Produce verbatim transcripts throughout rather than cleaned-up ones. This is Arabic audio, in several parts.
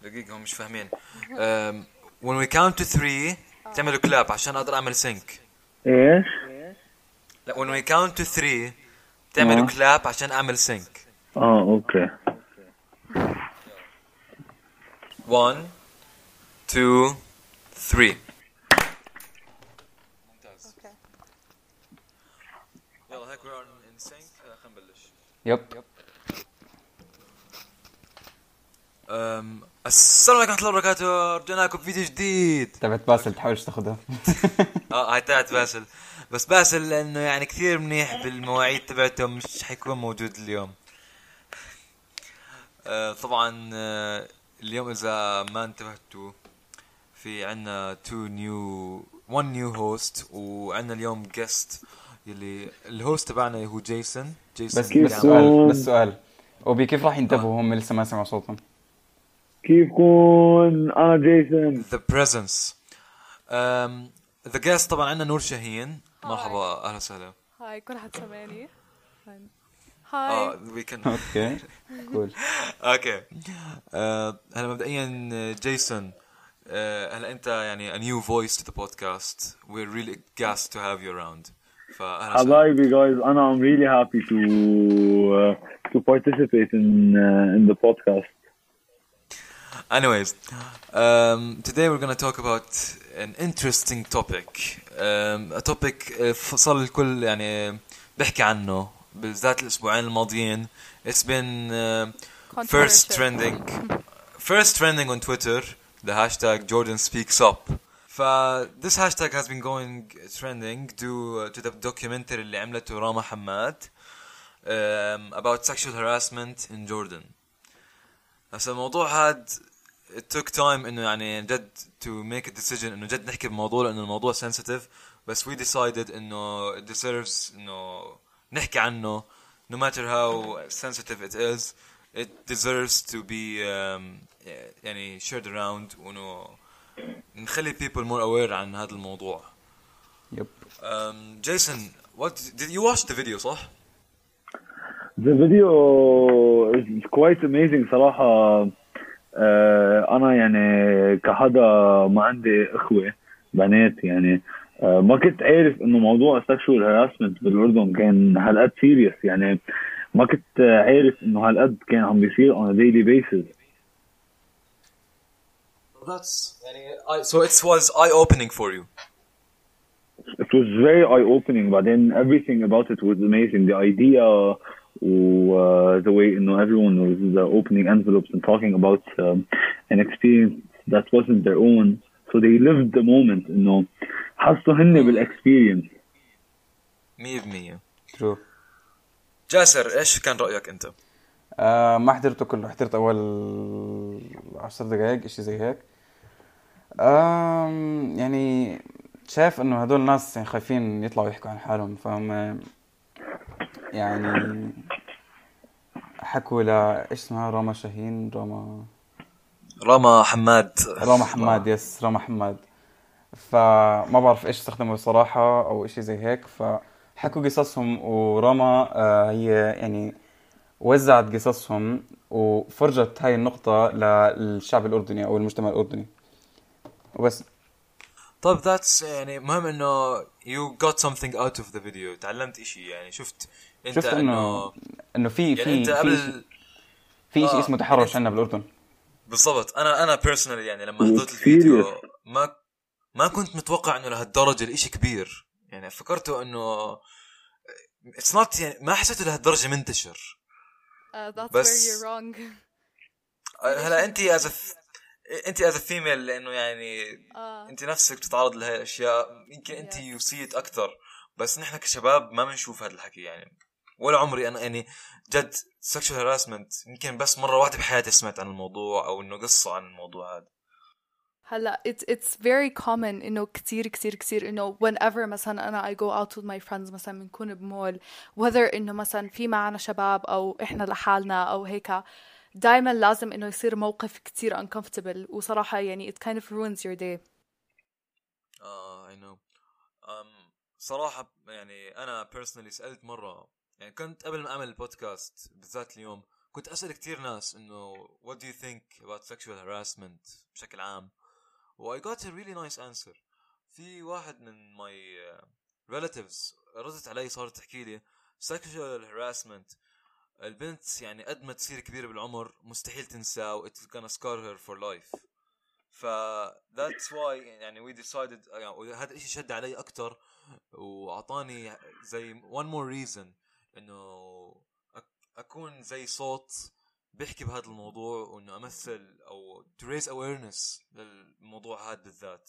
دقيقة هم مش فاهمين. um, when we count to three تعملوا clap عشان أقدر أعمل sync. ايش؟ لا when we count to three تعملوا اه clap عشان أعمل sync. اه اوكي. one two three. ممتاز. يلا هيك we're in sync. خلينا نبلش. يب. أم... السلام عليكم ورحمة الله وبركاته. رجعنا لكم فيديو جديد. تبعت باسل تحاولش تاخذها. اه هاي تاعت باسل. بس باسل لانه يعني كثير منيح بالمواعيد تبعته مش حيكون موجود اليوم. آه طبعا آه اليوم اذا ما انتبهتوا في عنا تو نيو one نيو هوست وعنا اليوم جيست يلي الهوست تبعنا هو جيسون. جيسون بس بس سؤال بس سؤال وبي كيف راح ينتبهوا هم لسه ما سمعوا صوتهم؟ كيفكن؟ انا جيسون. The presence. um, the guest طبعا عندنا نور شاهين. مرحبا اهلا وسهلا. هاي كل حد سمعني. اه هاي we can اوكي كول. اوكي هلا مبدئيا جيسون هلا انت يعني a new voice to the podcast. We're really gassed to have you around. فاهلا وسهلا. حبايبي guys, انا I'm really happy to uh, to participate in uh, in the podcast. Anyways, um, today we're going to talk about an interesting topic. Um, a topic uh, صار الكل يعني بحكي عنه بالذات الأسبوعين الماضيين. It's been uh, first trending, first trending on Twitter. The hashtag Jordan Speaks Up. ف this hashtag has been going trending due uh, to the documentary اللي عملته راما حماد um, about sexual harassment in Jordan. هسا الموضوع هاد it took time انه يعني جد to make a decision انه جد نحكي بموضوع لانه الموضوع sensitive. بس we decided انه it deserves انه نحكي عنه no matter how sensitive it is. It deserves to be um, يعني shared around وانه نخلي people more aware عن هذا الموضوع. يب. um, Jason, what did you watch the video صح؟ The video is quite amazing صراحة. آه أنا يعني كحدا ما عندي إخوة بنات يعني آه ما كنت عارف إنه موضوع sexual harassment بالأردن كان هالقد serious. يعني ما كنت عارف إنه هالقد كان عم بيصير on a daily basis. That's يعني I, so it was eye-opening for you. It was very eye-opening. But then everything about it was amazing. The idea, uh, the way you know everyone was uh, opening envelopes and talking about um, an experience that wasn't their own. So they lived the moment. You know, حسوا هن بالexperience. مية بالمية. True. جاسر إيش كان رأيك أنت؟ آه ما حضرته كله، حضرت أول عشر دقايق إشي زي هيك. آه يعني شايف إنه هدول الناس يعني خايفين يطلعوا يحكوا عن حالهم، فهم يعني حكوا لا إيش اسمها راما شاهين راما راما حماد راما حماد يس راما حماد. فما بعرف إيش استخدموا صراحة أو إشي زي هيك، فحكوا قصصهم وراما آه هي يعني وزعت قصصهم وفرجت هاي النقطة للشعب الأردني أو المجتمع الأردني وبس. طيب that's يعني مهم إنه you got something out of the video. تعلمت إشي يعني شفت أنت شفت إنه إنه في يعني في أنت قبل في إشي آه اسمه تحرش عندنا بالأردن. بالضبط. أنا أنا personally يعني لما حضرت الفيديو ما ما كنت متوقع إنه لهالدرجة الإشي كبير. يعني فكرته إنه it's not يعني ما حسيته لهالدرجة منتشر. Uh, that's بس where you're wrong. هلا انت as a انت as a female لانه يعني آه. انت نفسك بتتعرض لهي الاشياء يمكن انت Yes. you see it اكثر. بس نحن كشباب ما بنشوف هذا الحكي يعني. ولا عمري انا يعني جد sexual harassment يمكن بس مرة واحدة بحياتي سمعت عن الموضوع او انه قصة عن الموضوع هذا. هلا it's it's very common إنه كتير كتير كتير إنه whenever مثلا أنا I go out with my friends مثلا بنكون بمول whether إنه مثلا في معنا شباب أو إحنا لحالنا أو هيك دايما لازم إنه يصير موقف كتير uncomfortable وصراحة يعني it kind of ruins your day. اه I know. um, صراحة يعني أنا personally سألت مرة يعني كنت قبل ما أعمل البودكاست بالذات اليوم كنت أسأل كتير ناس إنه what do you think about sexual harassment بشكل عام، و I got a really nice answer. في واحد من my uh, relatives ردت علي، صارت تحكي لي sexual harassment البنت يعني قد ما تصير كبيرة بالعمر مستحيل تنسى و it's gonna scar her for life. ف that's why يعني we decided يعني هذا الاشي شد علي اكتر واعطاني زي one more reason انه اكون زي صوت بيحكي بهذا الموضوع، وانه امثل او to raise awareness للموضوع هذا بالذات.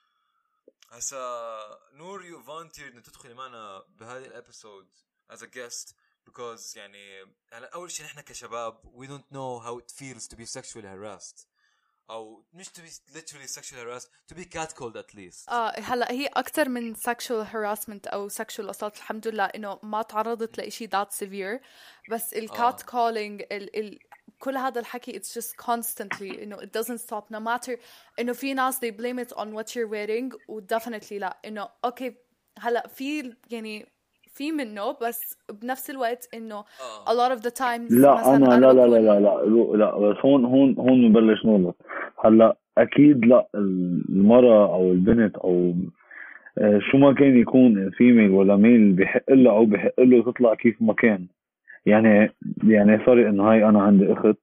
هسا نور you volunteered ان تدخلي معنا بهذه الابيسود as a guest because يعني هلا اول شيء نحن كشباب we don't know how it feels to be sexually harassed او مش to be literally sexually harassed, to be catcalled at least. اه هلا هي اكثر من sexual harassment او sexual assault الحمد لله انه ما تعرضت لإشي that severe، بس ال cat calling ال ال كل هذا الحكي it's just constantly انه it doesn't stop no matter انه في ناس they blame it on what you're wearing و definitely لا انه اوكي هلا في يعني في منه، بس بنفس الوقت انه a lot of the times لا انا لا لا لا لا لا لا بس هون هون هون نبلش نغلط. هلا اكيد لا المرأة او البنت او شو ما كان يكون فيميل ولا ميل بحق له او بحق له تطلع كيف ما كان. يعني يعني سوري انه هاي انا عندي اخت،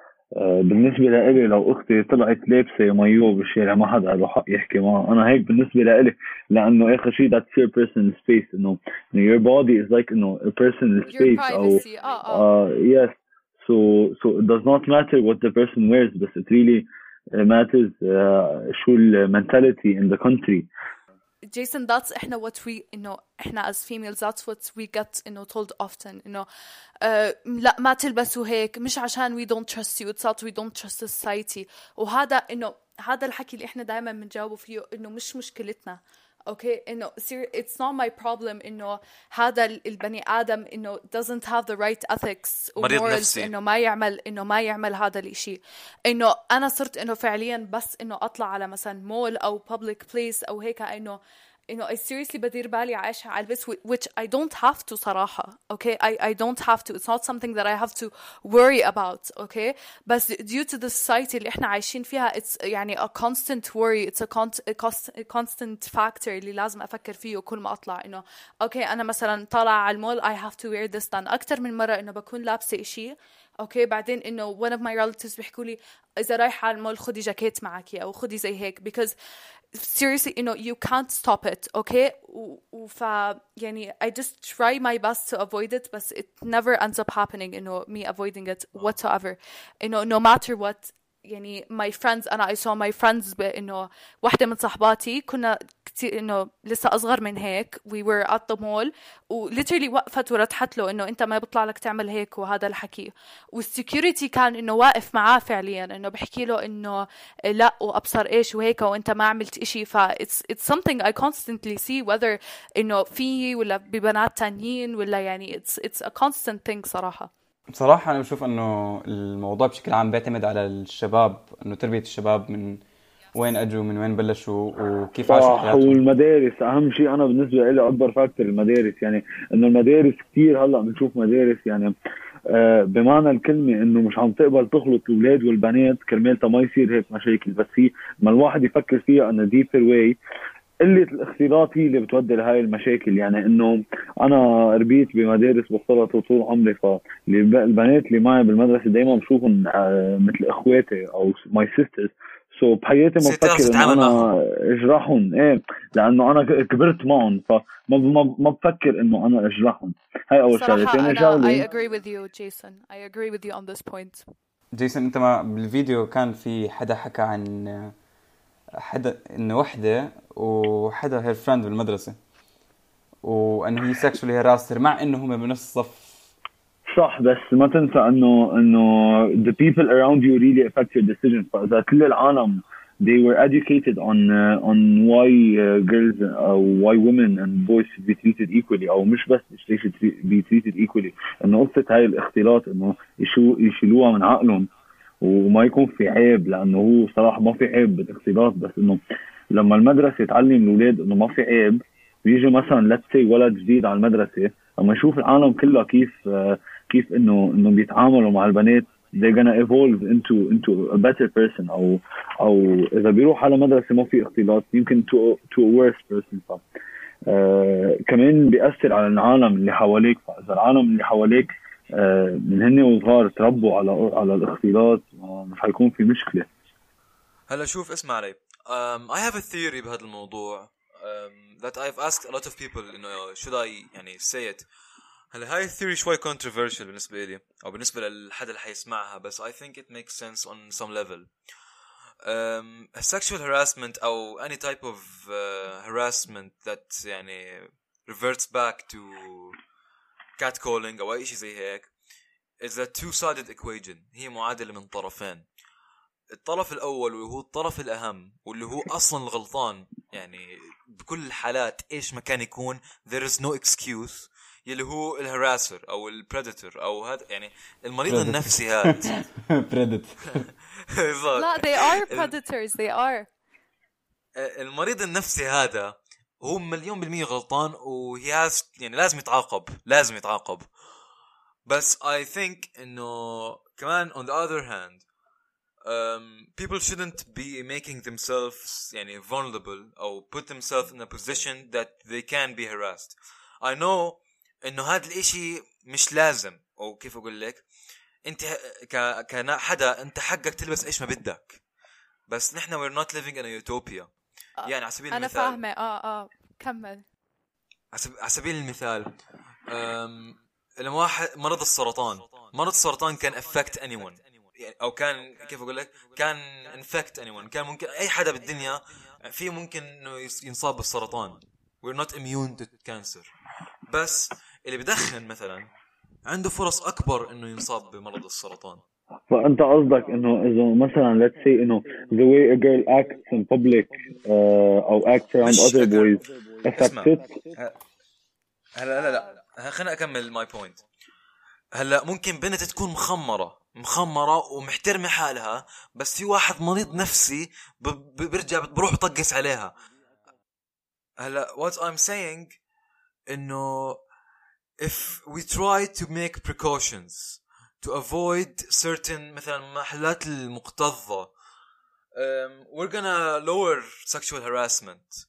بالنسبة لإلي لو أختي طلعت لابسة مايو بالشارع ما حدا له حق يحكي معها. أنا هيك بالنسبة لإلي، لأنه آخر شيء that's your personal space. إنه your body is like إنه a personal space. أو uh, yes so so it does not matter what the person wears, but it really matters uh, شو ال mentality in the country. Jason, that's إحنا what we إنه إحنا as females that's what we get إنه told often إنه uh, لا ما تلبسوا هيك مش عشان we don't trust you, it's out we don't trust the society. وهذا إنه هذا الحكي اللي إحنا دائما بنجاوبه فيه إنه مش مشكلتنا. اوكي انه it's not my problem انه هذا البني ادم انه doesn't have the right ethics و morals انه ما يعمل انه ما يعمل هذا الاشي. انه انا صرت انه فعليا بس انه اطلع على مثلا مول او public place او هيك انه انه I seriously بدير بالي عايشة على البس which I don't have to صراحة. okay I I don't have to, it's not something that I have to worry about. okay بس due to the society اللي احنا عايشين فيها it's يعني a constant worry, it's a, con- a, cost- a constant factor اللي لازم أفكر فيه كل ما أطلع. إنه okay أنا مثلا طالعة على المول I have to wear this done أكتر من مرة إنه بكون لابسة إشي اوكي بعدين انه one of my relatives بيحكوا لي اذا رايحه على المول خدي جاكيت معك او خدي زي هيك because seriously you know you can't stop it. okay وف يعني I just try my best to avoid it but it never ends up happening انه me avoiding it whatsoever. انه no matter what يعني my friends أنا I saw my friends بإنه واحدة من صحباتي كنا كتير إنه لسه أصغر من هيك we were at the mall و literally وقفت ورتحت له إنه أنت ما بيطلع لك تعمل هيك وهذا الحكي والسكيورتي كان إنه واقف معاه فعليا إنه بحكي له إنه لا وأبصر إيش وهيك وأنت ما عملت إشي. ف it's it's something I constantly see whether إنه فيه ولا ببنات تانيين ولا يعني it's it's a constant thing صراحة. بصراحة أنا بشوف أنه الموضوع بشكل عام بيعتمد على الشباب، أنه تربية الشباب من وين أجوا من وين بلشوا وكيف عاشوا حياتهم. والمدارس أهم شيء أنا بالنسبة لي أكبر فاكتور المدارس. يعني إنه المدارس كتير هلأ بنشوف مدارس يعني آه بمعنى الكلمة إنه مش عم تقبل تخلط الأولاد والبنات كرمال ما يصير هيك مشاكل. بس هي ما الواحد يفكر فيها أنه deeper way قلة الاختلاط هي اللي بتودي لهاي المشاكل. يعني انه انا ربيت بمدارس مختلطة طول عمري، فالبنات اللي معي بالمدرسة دايما بشوفهم مثل اخواتي او my sisters. سو so بحياتي ما بفكر انه انا اجرحهم ايه لانه انا كبرت معهم فما ما, ما بفكر انه انا اجرحهم. هاي اول شغله. ثاني شغله I agree with you Jason I agree with you on this point. جيسون انت ما بالفيديو كان في حدا حكى عن حدا انه وحده وحدا هير فريند بالمدرسه وانه هي سكشوالي هراسر مع انه هم بنفس الصف. صح بس ما تنسى انه انه the people around you really affect your decision. فاذا كل العالم they were educated on uh, on why uh, girls uh, why women and boys should be treated equally او مش بس they should be treated equally. انه قصه هاي الاختلاط انه يشو يشيلوها من عقلهم وما يكون في عيب، لانه هو صراحه ما في عيب بالاختلاط. بس انه لما المدرسه تعلم الاولاد انه ما في عيب ويجي مثلا let's say ولد جديد على المدرسه لما يشوف العالم كله كيف كيف انه انه بيتعاملوا مع البنات they're gonna evolve into into a better person او او اذا بيروح على مدرسه ما في اختلاط يمكن to to a worse person. ف آه كمان بيأثر على العالم اللي حواليك. فاذا العالم اللي حواليك آه من هن وصغار تربوا على على الاختلاط مش حيكون في مشكله. هلا شوف اسمع علي. um, I have a theory بهذا الموضوع um, that I've asked a lot of people you know, should I يعني say it. هلا هاي الثيوري شوي controversial بالنسبة لي أو بالنسبة للحد اللي حيسمعها بس I think it makes sense on some level. um, sexual harassment أو any type of uh, harassment that يعني reverts back to catcalling أو أي شيء زي هيك is a two-sided equation. هي معادلة من طرفين. الطرف الأول واللي هو الطرف الأهم واللي هو أصلا الغلطان يعني بكل الحالات إيش ما كان يكون there is no excuse يلي هو الهراسر أو البريدتور أو هذا يعني المريض النفسي هذا predator. لا they are predators they are. المريض النفسي هذا هو مليون بالمية غلطان و he has يعني لازم يتعاقب لازم يتعاقب. بس I think إنه كمان on the other hand Um, people shouldn't be making themselves يعني vulnerable أو put themselves in a position that they can be harassed. I know إنه هذا الإشي مش لازم أو كيف أقول لك أنت ك كنا حدا أنت حقك تلبس إيش ما بدك بس نحن we're not living in a utopia. يعني على سبيل أنا المثال أنا فاهمة آه آه كمل. على سبيل المثال um, لما واحد مرض السرطان مرض السرطان كان affect anyone يعني أو كان كيف أقول لك كان infect anyone كان ممكن أي حدا بالدنيا فيه ممكن إنه ينصاب بالسرطان. we're not immune to cancer. بس اللي بدخن مثلا عنده فرص أكبر إنه ينصاب بمرض السرطان. فأنت قصدك إنه إذا مثلا let's say إنه the way a girl acts in public uh, أو acts around other boys affects it. هلا لا لا خليني أكمل my point. هلا ممكن بنت تكون مخمرة مخمرة ومحترمة حالها بس في واحد مريض نفسي برجع بروح بطقس عليها. هلا what I'm saying إنه if we try to make precautions to avoid certain مثلا محلات المكتظة um, we're gonna lower sexual harassment.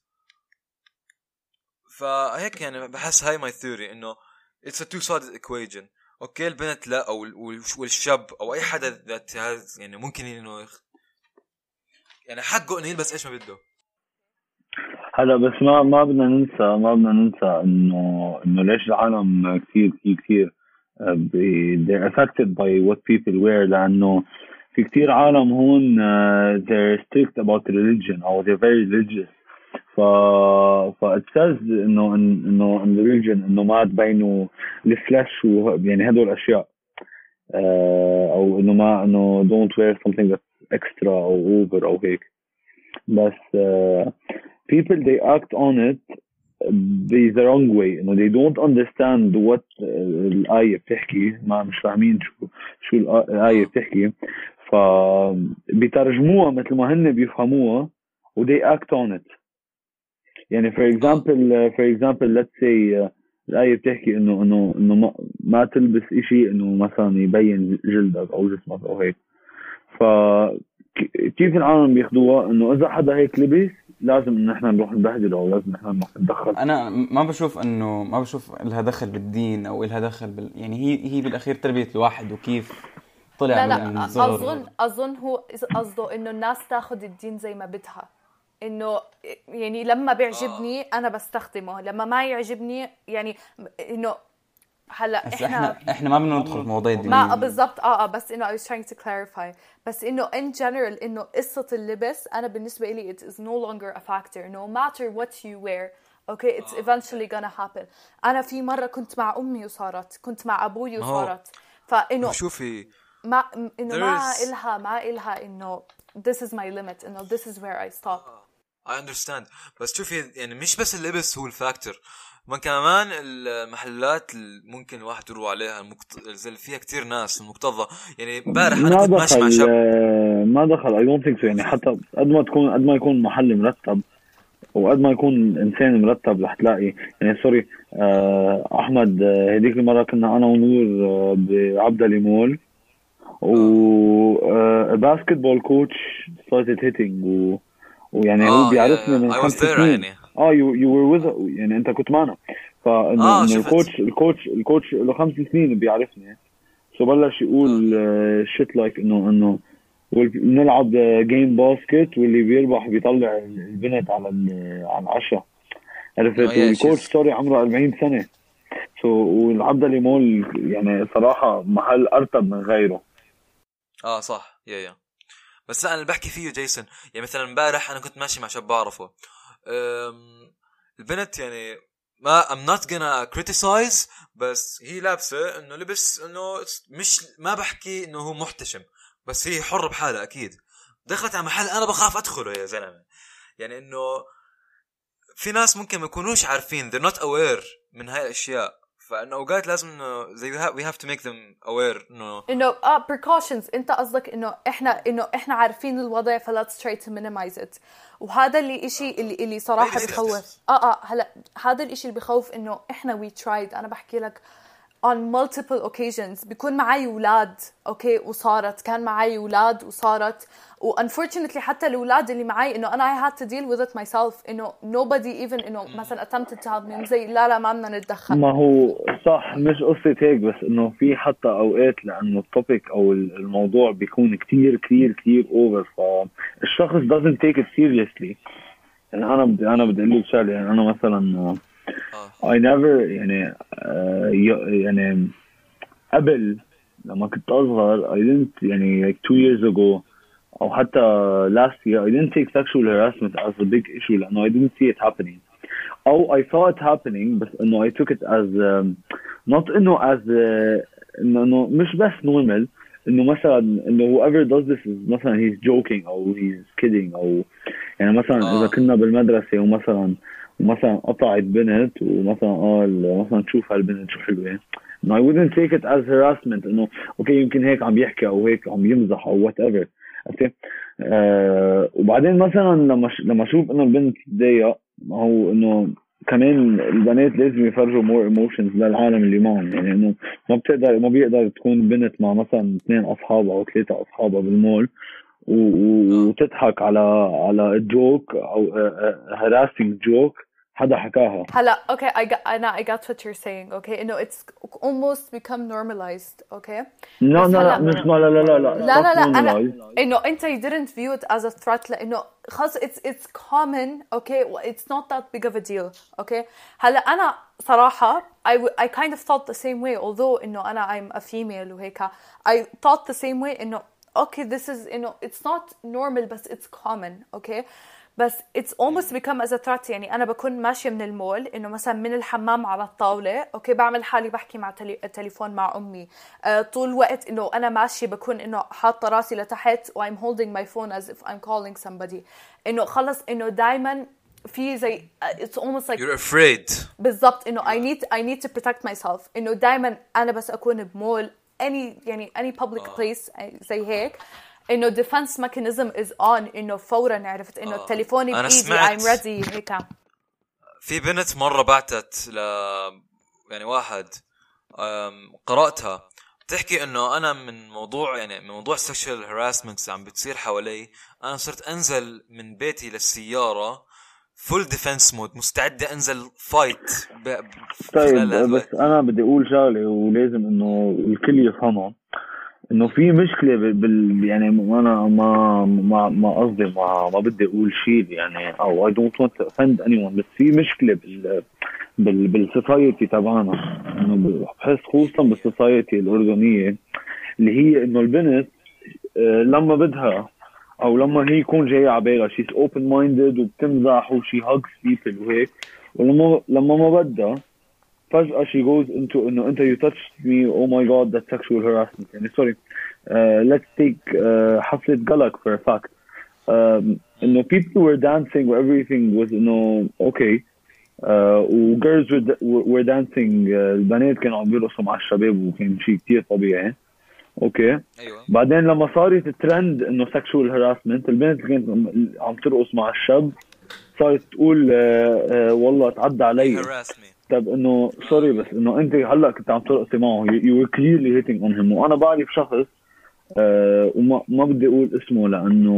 فهيك يعني بحس هاي my theory إنه it's a two-sided equation. اوكي البنت لا او والشاب او اي حدا ذات يعني ممكن انه يخ... يعني حقه انه يلبس ايش ما بده. هلا بس ما ما بدنا ننسى ما بدنا ننسى انه انه ليش العالم كثير كثير كثير they're affected by what people wear لانه في كثير عالم هون uh, they're strict about religion او they're very religious. ف ف it says انه انه in religion انه ما تبينوا الفلاش ويعني هدول الاشياء آه او انه ما انه don't wear something that's extra او over او هيك. بس uh, people they act on it the wrong way انه they don't understand what الآية بتحكي ما مش فاهمين شو شو الآية بتحكي ف بيترجموها مثل ما هن بيفهموها و they act on it. يعني for example for example let's say uh, الآية بتحكي إنه إنه إنه ما, ما تلبس إشي إنه مثلا يبين جلدك أو جسمك أو هيك. فكيف العالم بياخدوها إنه إذا حدا هيك لبس لازم إن إحنا نروح نبهدله أو لازم إحنا نروح ندخل. أنا ما بشوف إنه ما بشوف إلها دخل بالدين أو إلها دخل بال يعني هي هي بالأخير تربية الواحد وكيف طلع لا من لا الصغر. أظن أظن هو قصده إنه الناس تاخد الدين زي ما بدها. انه يعني لما بيعجبني انا بستخدمه لما ما يعجبني يعني انه هلا احنا احنا احنا ما بدنا ندخل في مواضيع دينيه ما بالضبط اه اه بس انه I was trying to clarify بس انه in general انه قصة اللبس انا بالنسبة لي it is no longer a factor no matter what you wear okay it's eventually gonna happen. انا في مرة كنت مع امي وصارت كنت مع ابوي وصارت فانه شوفي ما انه ما is... إلها ما إلها انه this is my limit انه this is where I stop. I understand بس شوفي يعني مش بس اللبس هو الفاكتور ما كمان المحلات ممكن الواحد يروح عليها المكت... فيها كتير ناس المكتظة يعني امبارح انا كنت ماشي مع شاب ما دخل I don't think so يعني حتى قد ما تكون قد ما يكون محل مرتب وقد ما يكون انسان مرتب رح تلاقي يعني سوري آه احمد آه، هديك المره كنا انا ونور آه بعبدالي مول و باسكت بول كوتش started hitting و... ويعني هو اه بيعرفني يا من I was خمس there سنين يعني. اه you, you were with يعني انت كنت معنا فانه اه انه شفت. الكوتش الكوتش الكوتش له خمس سنين بيعرفني سو بلش يقول شيت لايك انه انه بنلعب جيم باسكت واللي بيربح بيطلع البنت على ال- على العشاء عرفت إنه yeah, والكوتش she's- سوري عمره أربعين سنة سو والعبدالي مول يعني صراحة محل أرتب من غيره اه صح يا يا بس لا انا اللي بحكي فيه جيسون يعني مثلا امبارح انا كنت ماشي مع شاب بعرفه أم، البنت يعني ما I'm not gonna criticize بس هي لابسه انه لبس انه مش ما بحكي انه هو محتشم بس هي حرة بحالها اكيد دخلت على محل انا بخاف ادخله يا زلمه يعني انه في ناس ممكن ما يكونوش عارفين they're not aware من هاي الاشياء فانه اوقات لازم انه زي we have, we have to make them aware انه انه اه precautions انت قصدك انه احنا انه احنا عارفين الوضع ف let's try to minimize it وهذا اللي اشي اللي اللي صراحه Maybe this بخوف is- اه اه هلا هذا الاشي اللي بخوف انه احنا we tried انا بحكي لك on multiple occasions بيكون معي اولاد اوكي وصارت كان معي اولاد وصارت و unfortunately حتى الاولاد اللي معي انه انا I had to deal with it myself انه nobody even انه مثلا attempted to help me زي لا لا ما بدنا نتدخل ما هو صح مش قصة هيك بس انه في حتى اوقات لانه التوبيك او الموضوع بيكون كتير كتير كتير اوفر فالشخص doesn't take it seriously يعني انا بدي انا بدي اقول لك شغله يعني انا مثلا اه I never يعني آه، ي- يعني قبل لما كنت اصغر I didn't يعني like two years ago او حتى last year I didn't take sexual harassment as a big issue لانه I didn't see it happening او I saw it happening بس انه I took it as um, not انه as uh, انه إنه مش بس normal انه مثلا انه whoever does this is مثلا he's joking او he's kidding او يعني مثلا آه. اذا كنا بالمدرسه ومثلا ومثلا قطعت بنت ومثلا قال مثلا شوف هالبنت شو حلوه no I wouldn't take it as harassment انه اوكي يمكن هيك عم يحكي او هيك عم يمزح او whatever اوكي آه وبعدين مثلا لما ش... لما اشوف انه البنت تضايق ما هو انه كمان البنات لازم يفرجوا more emotions للعالم اللي معهم يعني انه ما بتقدر ما بيقدر تكون بنت مع مثلا اثنين اصحابها او ثلاثه اصحابها بالمول و... و- وتضحك على على جوك او harassing joke حدا حكاها هلا okay I got انا I got what you're saying okay انه it's almost become normalized okay لا بس لا لا هلا- مش ما لا لا لا لا لا لا لا not انا normalized. انه انت you didn't view it as a threat لانه خلص it's it's common okay it's not that big of a deal okay هلا انا صراحة I, w- I kind of thought the same way although انه انا I'm a female وهيك I thought the same way انه okay this is انه it's not normal بس it's common okay بس it's almost become as a threat يعني أنا بكون ماشية من المول إنه مثلا من الحمام على الطاولة أوكي بعمل حالي بحكي مع تلي... التليفون مع أمي آه طول الوقت إنه أنا ماشية بكون إنه حاطة راسي لتحت و I'm holding my phone as if I'm calling somebody إنه خلص إنه دايما في زي it's almost like you're afraid بالضبط إنه I need I need to protect myself إنه دايما أنا بس أكون بمول any يعني any public place زي هيك إنه defense mechanism is on إنه فورا عرفت إنه تليفوني أنا بإيدي سمعت- I'm ready هيك في بنت مرة بعتت ل يعني واحد أم، قرأتها بتحكي انه انا من موضوع يعني من موضوع sexual harassment عم بتصير حوالي انا صرت انزل من بيتي للسيارة full defense mode مستعدة انزل fight ب... ب- طيب خلال هذا بس انا بدي اقول شغله ولازم انه الكل يفهمها انه في مشكله بال- بال يعني انا ما ما ما قصدي ما ما بدي اقول شيء يعني او I don't want to offend anyone بس في مشكله بال بال بالسوسايتي تبعنا انه بحس خصوصا بالسوسايتي الاردنيه اللي هي انه البنت آه، لما بدها او لما هي يكون جايه على بالها she's open minded وبتمزح وشي hugs people وهيك ولما لما ما بدها فجأة she goes into انه انت you touched me oh my god that's sexual harassment يعني sorry uh, let's take uh, حفلة قلق for a fact um, انه people were dancing و everything was انه okay uh, و girls were, were dancing uh, البنات كانوا عم بيرقصوا مع الشباب وكان شيء كتير طبيعي اوكي ايوه بعدين لما صارت الترند انه sexual harassment البنت اللي كانت عم ترقص مع الشاب صارت تقول آه آه والله تعدى علي. harass me. طب انه سوري بس انه انت هلا كنت عم ترقصي معه you, you were clearly hitting on him. وانا بعرف شخص آه وما ما بدي اقول اسمه لانه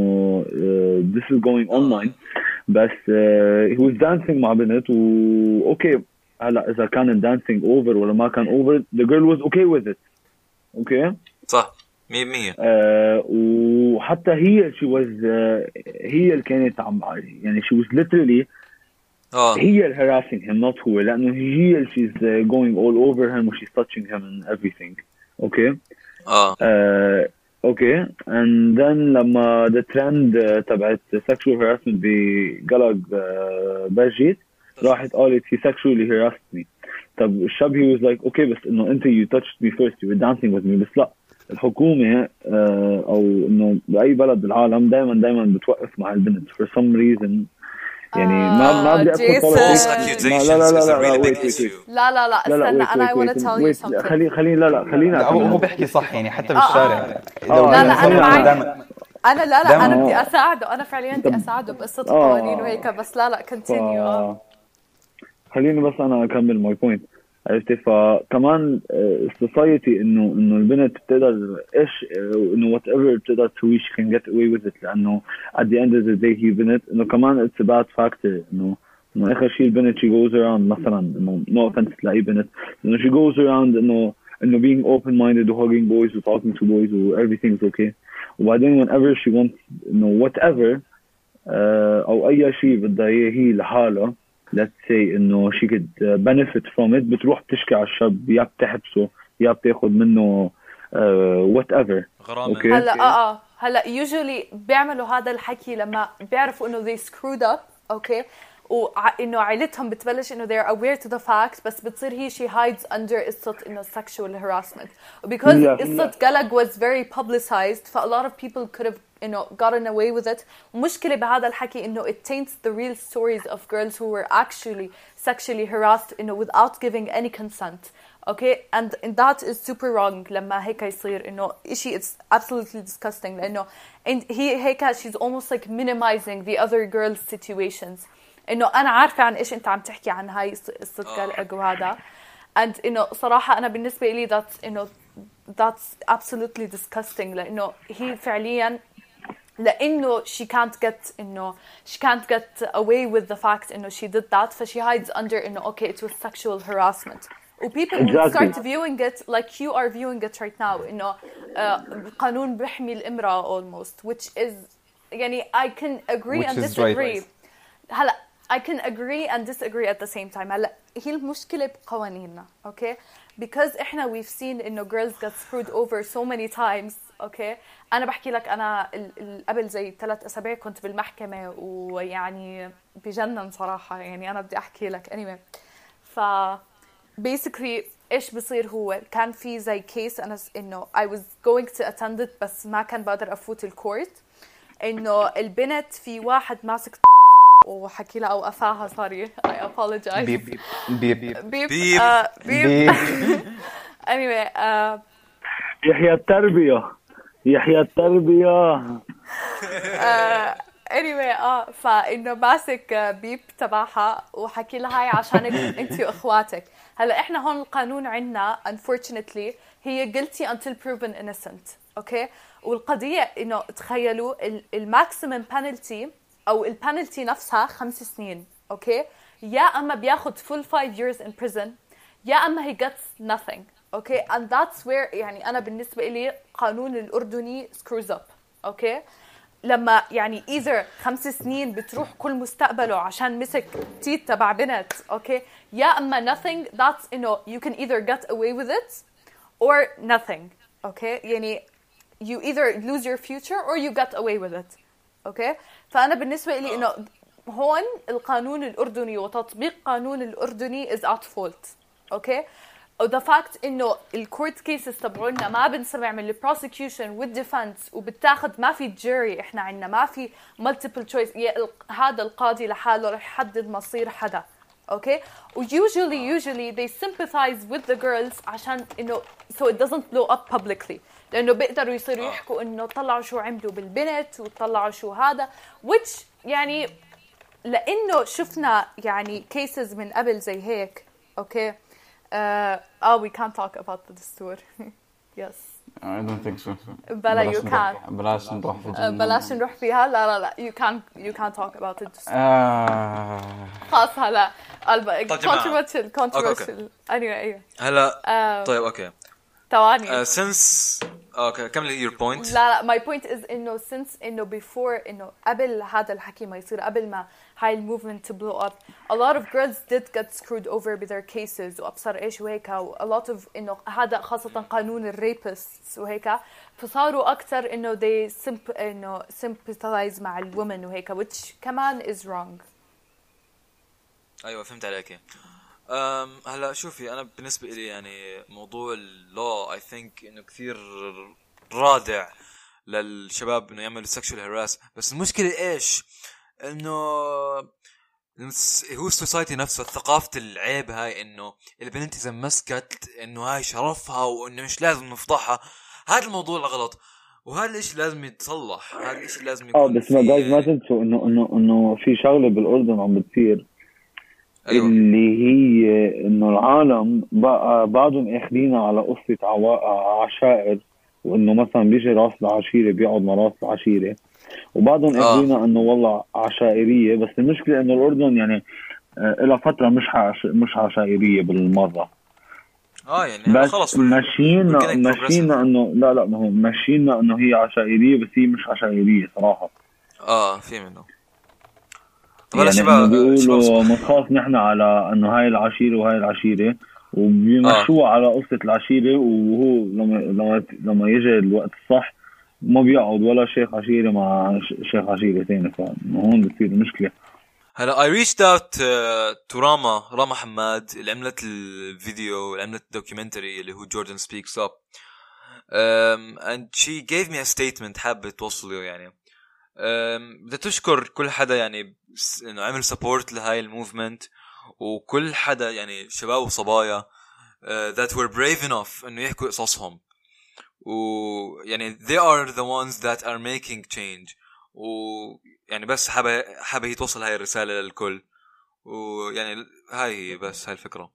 آه this is going online بس آه he was dancing مع بنت و اوكي هلا اذا كان dancing over ولا ما كان over the girl was okay with it. اوكي صح مية بالمية. آه وحتى هي she was آه هي اللي كانت عم يعني she was literally اه هي اللي harassing him not هو لانه هي اللي she's uh, going all over him و she's touching him and everything. اوكي اه آه اوكي and then لما the trend uh, تبعت sexual harassment بقلق uh, بجيت راحت قالت he sexually harassed me. طب الشاب he was like okay بس انه انت you touched me first you were dancing with me. بس لا الحكومة uh, او انه بأي بلد بالعالم دايما دايما بتوقف مع البنت for some reason يعني ما ما بدي ادخل False لا لا لا accusations is a لا really لا big issue. لا لا لا لا لا استنى wait, انا I wait, want to wait, tell you wait. something. خلي خلي لا لا خلينا لا هو هو أكمل. بيحكي صح يعني حتى آه، بالشارع آه. لو لا، أنا لا، أنا صلي معك. دايما انا لا لا دايماً. انا بدي آه. اساعده انا فعليا بدي اساعده بقصة آه. قوانين وهيك بس لا لا continue اه ف... خليني بس انا اكمل ماي بوينت. عرفتي فكمان السوسايتي انه انه البنت بتقدر ايش انه وات ايفر بتقدر تسوي she can get away with it لانه at the end of the day هي بنت انه كمان it's a bad factor انه انه اخر شيء البنت she goes around مثلا انه no offense تلاقي بنت انه she goes around انه انه being open minded و hugging boys و talking to boys و everything's okay وبعدين whenever she wants انه whatever uh, او اي شيء بدها اياه هي لحالها let's say انه she could uh, benefit from it بتروح بتشكي على الشاب يا بتحبسه يا بتاخد منه uh, whatever. غرامة. اوكي هلا اه اه هلا usually بيعملوا هذا الحكي لما بيعرفوا انه they screwed up اوكي وانه عائلتهم بتبلش انه they're aware to the fact بس بتصير هي she hides under قصة انه sexual harassment because Yes. قصة قلق was very publicized ف a lot of people could have you know gotten away with it. ومشكلة بهذا الحكي انه it taints the real stories of girls who were actually sexually harassed you know without giving any consent. Okay and, and that is super wrong لما هيك يصير انه اشي it's absolutely disgusting لانه and هي هيك she's almost like minimizing the other girls situations. انه انا عارفه عن ايش انت عم تحكي عن هاي قصه قلق وهذا and انه صراحه انا بالنسبه لي that's انه that's absolutely disgusting لانه هي فعليا لانه she can't get انه she can't get away with the fact انه she did that ف she hides under انه okay it was sexual harassment و people will Exactly. start viewing it like you are viewing it right now انه قانون بيحمي الامراه almost which is يعني I can agree Which and is disagree. right. هلا I can agree and disagree at the same time. هلا هي المشكلة بقوانيننا okay because إحنا we've seen إنه girls get screwed over so many times okay أنا بحكي لك أنا ال- ال- قبل زي ثلاث أسابيع كنت بالمحكمة ويعني بجنن صراحة يعني أنا بدي أحكي لك anyway ف basically إيش بصير هو كان في زي case أنا س- إنه I was going to attend it بس ما كان بقدر أفوت الكورت إنه البنت في واحد ماسك وحكي لها او قفاها sorry I apologize بيب بيب بيب بيب. آه، بيب بيب anyway آه، يحيى التربيه يحيى التربيه. آه، anyway اه فانه ماسك آه، بيب تبعها وحكي لها هاي عشانك انت واخواتك. هلا احنا هون القانون عندنا unfortunately هي guilty until proven innocent اوكي والقضيه انه تخيلوا الماكسيمم penalty او البنالتي نفسها خمس سنين اوكي يا اما بياخد full five years in prison يا اما he gets nothing اوكي and that's where يعني انا بالنسبه لي قانون الاردني screws up اوكي لما يعني either خمس سنين بتروح كل مستقبله عشان مسك تيت تبع بنت اوكي يا اما nothing that's you know you can either get away with it or nothing اوكي يعني you either lose your future or you get away with it اوكي فانا بالنسبه لي انه هون القانون الاردني وتطبيق قانون الاردني is at fault اوكي وذا فاكت انه الكورت كيسز تبعولنا ما بنسمع من البروسيكيوشن والديفنس وبتاخذ ما في جيري احنا عندنا ما في مالتيبل تشويس هذا القاضي لحاله رح يحدد مصير حدا اوكي وusually usually they sympathize with the girls عشان انه so it doesn't blow up publicly لانه بيقدروا يصيروا يحكوا انه طلعوا شو عملوا بالبنت وطلعوا شو هذا which يعني لانه شفنا يعني cases من قبل زي هيك اوكي اه uh, oh, we can't talk about the دستور yes I don't think so. بلا you can't بلاش نروح في uh, بلاش نروح فيها لا لا لا you can't you can't talk about it آه... خلاص هلا طيب جماعة. controversial controversial anyway ايوه هلا آه، طيب اوكي ثواني uh, since اوكي كملي your point. لا لا my point is انه since انه before انه قبل هذا الحكي ما يصير قبل ما هاي الموفمنت to blow up a lot of girls did get screwed over with their cases وابصر ايش وهيك و a lot of انه هذا خاصة قانون الريبس وهيك فصاروا اكثر انه they simp انه sympathize مع الwomen وهيك which كمان is wrong. ايوه فهمت عليك. أم هلا شوفي انا بالنسبه لي يعني موضوع اللو اي ثينك انه كثير رادع للشباب انه يعملوا سكشوال هراس، بس المشكله ايش انه هو السوسايتي نفسه ثقافه العيب هاي انه البنت اذا مسكت انه هاي شرفها وانه مش لازم نفضحها. هذا الموضوع الغلط وهذا الاشي لازم يتصلح، هذا الاشي لازم يكون اه بس ما جايز ما تنسوا انه انه انه في شغله بالاردن عم بتصير. أيوة. اللي هي انه العالم بقى بعضهم اخذينها على قصه عوا... عشائر، وانه مثلا بيجي راس العشيره بيقعد مع راس العشيره، وبعضهم آه. اخذينها انه والله عشائريه. بس المشكله انه الاردن يعني الى فتره مش عش... مش عشائريه بالمره. اه يعني بس خلص ماشينا ماشينا انه لا لا ما هو ماشينا انه هي عشائريه، بس هي مش عشائريه صراحه. اه في منه يعني شباب بيقولوا مخاف نحن على انه هاي العشيره وهاي العشيره، وبيمشوها آه. على قصه العشيره، وهو لما لما لما يجي الوقت الصح ما بيقعد ولا شيخ عشيره مع شيخ عشيره ثاني، فهون بتصير المشكله. هلا I reached out uh, to راما راما حماد اللي عملت الفيديو اللي عملت الدوكيومنتري اللي هو Jordan Speaks Up um, and she gave me a statement حابة توصله. يعني بدي تشكر كل حدا يعني انه عمل سبورت لهاي الموفمنت، وكل حدا يعني شباب وصبايا uh, that were brave enough انه يحكوا قصصهم، ويعني they are the ones that are making change. ويعني بس حابة حابة هي توصل هاي الرسالة للكل، ويعني هاي هي بس هاي الفكرة.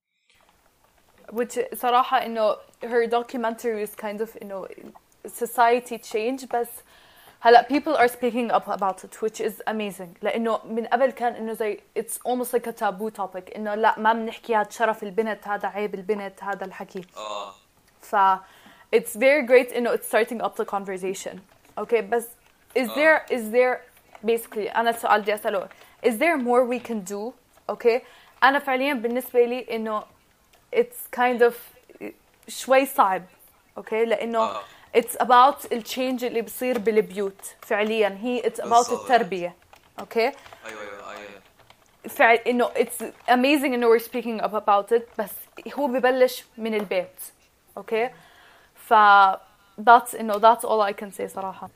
which صراحة إنه her documentary is kind of إنه society change، بس هلا people are speaking up about it which is amazing. لأنه من قبل كان إنه زي it's almost like a taboo topic، إنه لا ما بنحكي هذا شرف البنت، هذا عيب البنت، هذا الحكي. آه. ف it's very great إنه it's starting up the conversation. Okay بس is there is there basically أنا السؤال بدي أسأله is there more we can do. okay أنا فعليا بالنسبة لي إنه it's kind of شوي صعب. okay لأنه آه. it's about التشينج اللي بصير بالبيوت فعليا، هي it's about التربية. okay أيوة أيوة أيوة فعل إنه it's amazing إنه we're speaking up about it، بس هو ببلش من البيت. okay ف that's إنه that's all I can say صراحة.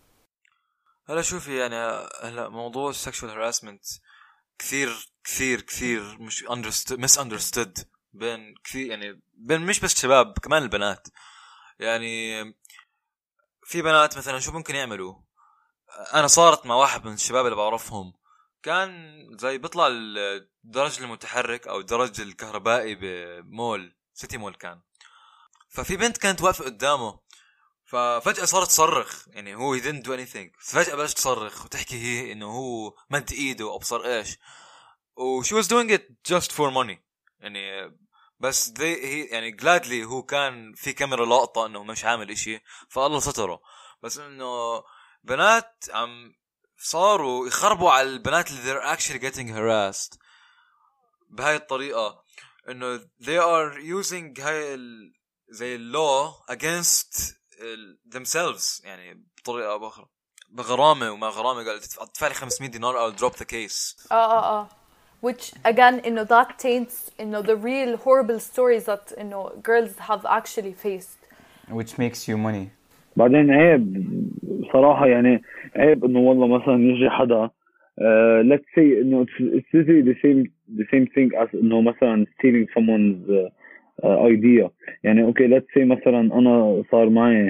هلا شوفي يعني هلا موضوع sexual harassment كثير كثير كثير مش understood misunderstood بين كثير يعني بين مش بس شباب كمان البنات. يعني في بنات مثلا شو ممكن يعملوا. انا صارت مع واحد من الشباب اللي بعرفهم كان زي بيطلع الدرج المتحرك او الدرج الكهربائي بمول سيتي مول كان، ففي بنت كانت واقفة قدامه ففجأة صارت تصرخ. يعني هو he didn't do anything، فجأة بلشت تصرخ وتحكي هي انه هو مد ايده او ابصر ايش، و she was doing it just for money. يعني بس they هي يعني gladly هو كان في كاميرا لقطة انه مش عامل اشي فالله ستره. بس انه بنات عم صاروا يخربوا على البنات اللي they're actually getting harassed بهاي الطريقة، انه they are using هاي ال زي اللو against themselves يعني بطريقة أو بأخرى بغرامة وما غرامة. قال تدفع لي خمسمية دينار I'll drop the case. اه اه اه which again إنه that taints إنه the real horrible stories that إنه girls have actually faced which makes you money. بعدين عيب صراحة، يعني عيب إنه والله مثلا يجي حدا uh, let's say إنه it's really the same the same thing as إنه مثلا stealing someone's uh, uh, idea. يعني okay let's say مثلا أنا صار معي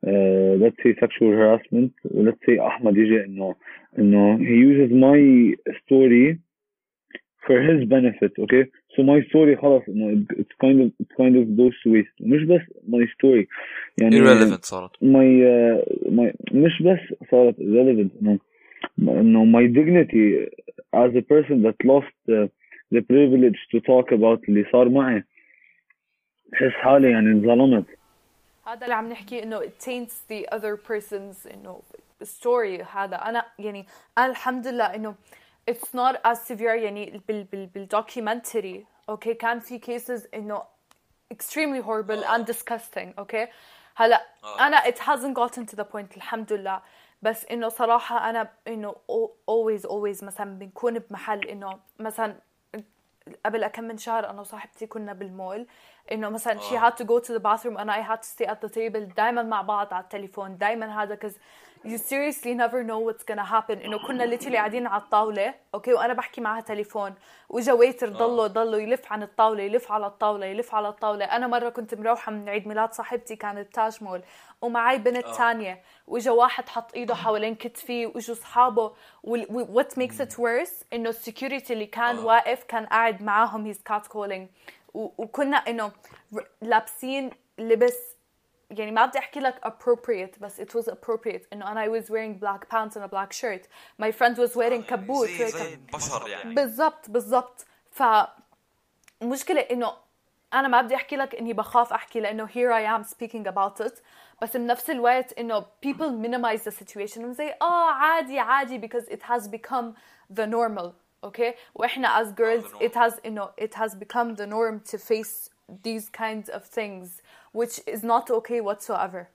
uh, let's say sexual harassment, let's say أحمد يجي إنه إنه he uses my story for his benefit, okay? So my story خلاص إنه it's kind of it's kind of goes to waste. مش بس my story يعني irrelevant صارت. my uh, my مش بس صارت irrelevant إنه إنه my dignity as a person that lost uh, the privilege to talk about اللي صار معي. بحس حالي يعني انظلمت. هذا اللي عم نحكي إنه it taints the other person's إنه story. هذا أنا يعني أنا الحمد لله إنه it's not as severe يعني بال بال بالdocumentary okay كان في cases إنه extremely horrible and disgusting okay هلا أنا it hasn't gotten to the point الحمد لله بس إنه صراحة أنا إنه always always مثلا بنكون بمحل إنه مثلا قبل كم من شهر أنا وصاحبتي كنا بالمول إنه مثلا she had to go to the bathroom and I had to stay at the table دايما مع بعض على التليفون دايما هذا cause you seriously never know what's gonna happen إنه كنا literally قاعدين على الطاولة أوكي وأنا بحكي معها تليفون وجا ويتر ضلوا ضلوا يلف عن الطاولة يلف على الطاولة يلف على الطاولة. أنا مرة كنت مروحة من عيد ميلاد صاحبتي كانت تاج مول ومعي بنت تانية وجا واحد حط إيده حوالين كتفي وجوا صحابه و what makes it worse إنه السكيورتي اللي كان واقف كان قاعد معاهم he's catcalling وكنا إنه لابسين لبس يعني ما بدي أحكي لك appropriate بس it was appropriate إنه أنا I was wearing black pants and a black shirt my friend was wearing كبوت زي زي بشر يعني بالضبط بالضبط. فمشكلة إنه أنا ما بدي أحكي لك إني بخاف أحكي لأنه here I am speaking about it بس بنفس الوقت إنه people minimize the situation وزي آه عادي عادي because it has become the normal okay وإحنا as girls it has إنه it has become the norm to face these kinds of things which is not okay whatsoever.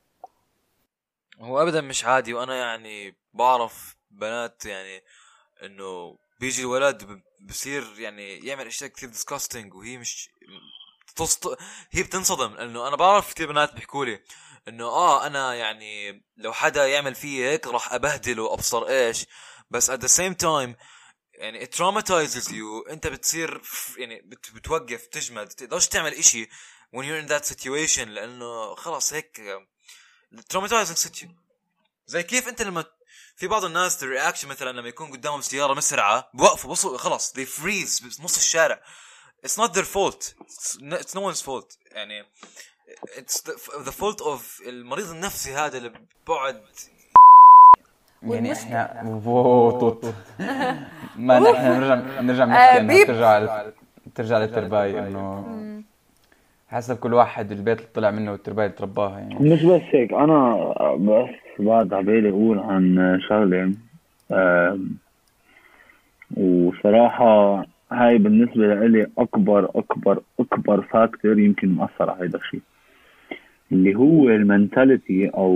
هو أبدا مش عادي. وأنا يعني بعرف بنات يعني إنه بيجي الولد بصير يعني يعمل أشياء كثير disgusting وهي مش تصط... هي بتنصدم لأنه أنا بعرف كثير بنات بيحكولي إنه آه أنا يعني لو حدا يعمل فيه هيك راح أبهدله وأبصر إيش بس at the same time يعني it traumatizes you. أنت بتصير يعني بت... بتوقف تجمد تقدرش تعمل إشي when you're in that situation لأنه خلاص هيك traumatizing situation. زي كيف أنت لما في بعض الناس الرياكشن مثلا لما يكون قدامهم سيارة مسرعة بوقفوا بصوا خلاص they freeze بنص الشارع. it's not their fault it's, it's no one's fault يعني it's the, the fault of المريض النفسي هذا اللي بعد يعني احنا فوتوت ما نحن نرجع نرجع نحكي انه ترجع ترجع للترباية انه حسب كل واحد البيت اللي طلع منه والترباية اللي ترباها يعني. مش بس هيك انا بس بعد عبالي اقول عن شغله وصراحه هاي بالنسبه لي اكبر اكبر اكبر فاكتور يمكن مؤثر على هذا الشيء اللي هو المنتاليتي او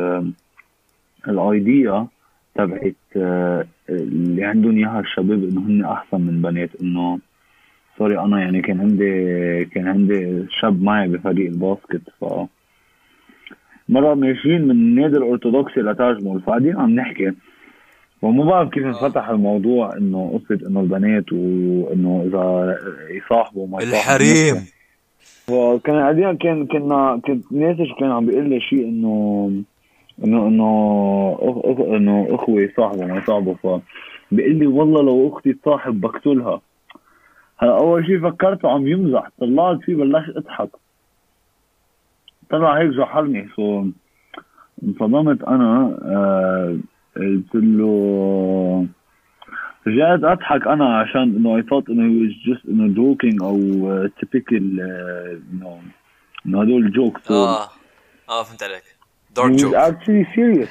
الايديا تبعت اللي عندهم اياها الشباب انه هن احسن من بنات. انه سوري انا يعني كان عندي كان عندي شاب معي بفريق الباسكت ف مره ماشيين من النادي الارثوذكسي لتاج مول فقاعدين عم نحكي وما بعرف كيف انفتح الموضوع انه قصه انه البنات وانه اذا يصاحبوا ما الحريم وكان قاعدين كان كنا كنت ناسش كان عم بيقول لي شيء انه انه انه أخ... انه اخوي صاحبه ما صاحبه فبيقول لي والله لو اختي تصاحب بقتلها. هلا اول شيء فكرته عم يمزح طلعت فيه بلشت اضحك طلع هيك جحرني سو انصدمت انا آه... قلت له رجعت اضحك انا عشان انه I thought انه he was just انه joking او typical انه انه هدول جوكس اه اه فهمت عليك dark joke. He was actually serious.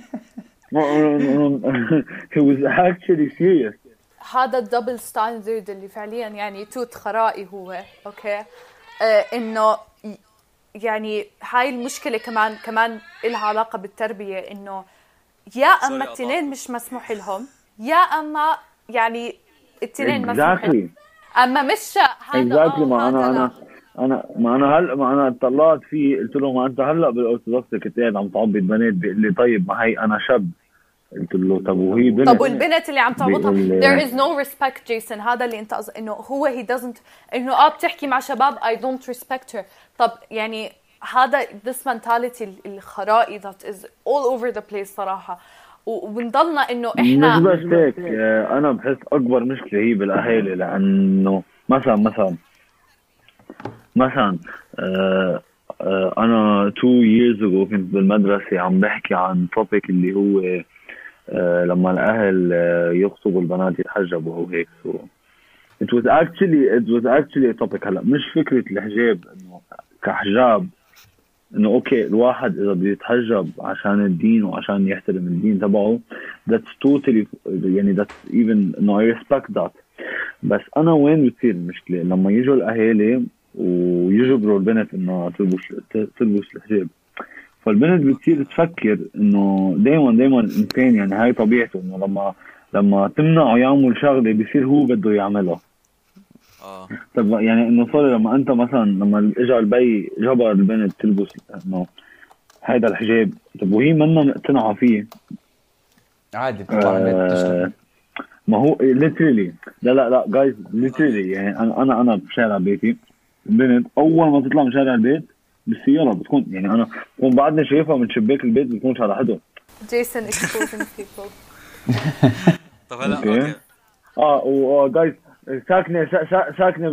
He was actually serious. هذا الدبل ستاندرد اللي فعليا يعني توت خرائي هو اوكي آه انه يعني هاي المشكله كمان كمان لها علاقه بالتربيه انه يا اما التنين مش مسموح لهم يا اما يعني التنين exactly. مسموح لهم اما مش هذا exactly. ما انا انا انا ما انا هلا ما انا طلعت فيه قلت له ما انت هلا بالارثوذكس كنت قاعد عم تعبد بنات بيقول لي طيب ما هي انا شاب قلت له طب وهي بنت طب والبنت اللي عم تعبطها there is no respect جيسون هذا اللي انت انه هو he doesn't انه اه بتحكي مع شباب I don't respect her. طب يعني هذا this mentality الخرائي that is all over the place صراحة. وبنضلنا إنه إحنا مش بس هيك، أنا بحس أكبر مشكلة هي بالأهالي، لأنه مثلا مثلا مثلا آه آه أنا two years ago كنت بالمدرسة عم بحكي عن topic اللي هو آه لما الأهل آه يخطبوا البنات يتحجبوا أو هيك. so it was actually it was actually a topic. هلا مش فكرة الحجاب إنه كحجاب، إنه أوكي الواحد إذا بيتحجب عشان الدين وعشان يحترم الدين تبعه that's totally يعني that's even إنه I respect that. بس أنا وين بتصير المشكلة؟ لما يجوا الأهالي ويجبروا البنت إنه تلبس تلبس الحجاب، فالبنت بتصير تفكر إنه دايما دايما إنسان يعني هاي طبيعته، إنه لما لما تمنعه يعمل شغلة بيصير هو بده يعملها. اه طب يعني إنه صار لما أنت مثلا لما إجا البي جبر البنت تلبس إنه هيدا الحجاب، طب وهي منا مقتنعة فيه عادي بتطلع البنت تشتغل. ما هو literally لا لا لا guys literally يعني أنا أنا أنا بشارع بيتي البنت أول ما تطلع من شارع البيت بالسيارة بتكون يعني أنا بكون بعدني شايفها من شباك البيت بتكونش على حدهم. Jason exposing people. طب هلا اوكي اه و guys ساكنة سا ساكنة بس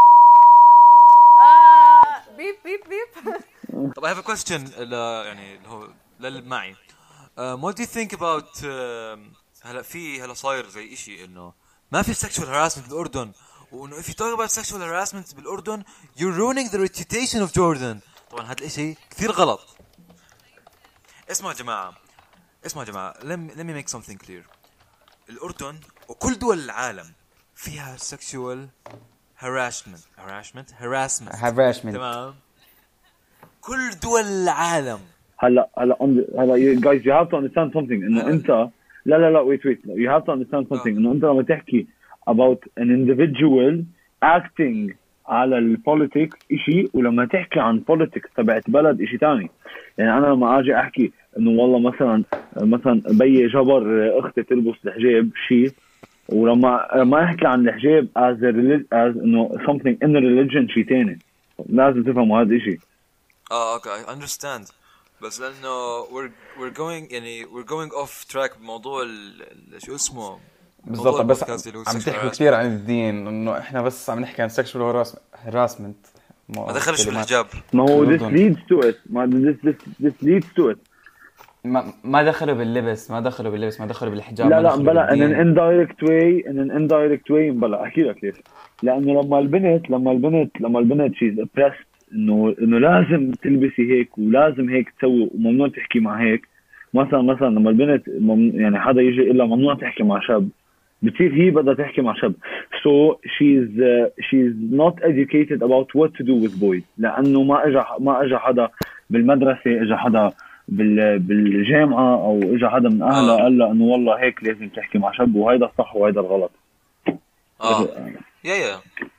آه بيب بيب بيب. طب I have a question ل يعني اللي هو للي معي. um, what do you think about um, هلا في هلا صاير زي إشي إنه ما في sexual harassment بالأردن، وإنه if you talk about sexual harassment بالأردن you're ruining the reputation of Jordan. طبعا هذا الإشي كثير غلط. اسمعوا يا جماعة اسمعوا يا جماعة let me, let me make something clear. الأردن وكل دول العالم فيها sexual harassment harassment harassment harassment تمام. كل دول العالم. هلا هلا هلا guys you have to understand something إنه أنت لا لا لا wait wait you have to understand something إنه أنت لما تحكي about an individual acting على البوليتيكس إشي، ولما تحكي عن politics تبعت بلد إشي تاني. يعني أنا لما أجي أحكي إنه والله مثلا مثلا بي جبر أختي تلبس الحجاب شيء، ولما لما أحكي عن الحجاب as a as إنه something in a religion شيء تاني. لازم تفهموا هذا الشيء. اه اوكي I understand. بس لأنه we're we're going يعني we're going off track بموضوع شو اسمه بالضبط. بس عم تحكي كثير عن الدين، إنه إحنا بس عم نحكي عن sexual harassment ما دخلش بالحجاب. ما هو this leads to it ما this this this leads to it ما ما دخلوا باللبس ما دخلوا باللبس ما دخلوا بالحجاب. لا لا بلا in an indirect way in an indirect way بلا أحكي لك ليش. لأنه لما البنت لما البنت لما البنت she's oppressed إنه إنه لازم تلبسي هيك ولازم هيك تسوي وممنوع تحكي مع هيك. مثلا مثلا لما البنت يعني حدا يجي إلا ممنوع تحكي مع شاب، بتصير هي بدها تحكي مع شاب. so she's uh, she's not educated about what to do with boys. لأنه ما إجا ما إجا حدا بالمدرسة إجا حدا بال بالجامعة أو إجا حدا من أهلها قال له إنه والله هيك لازم تحكي مع شاب وهيدا الصح وهيدا الغلط. آه yeah yeah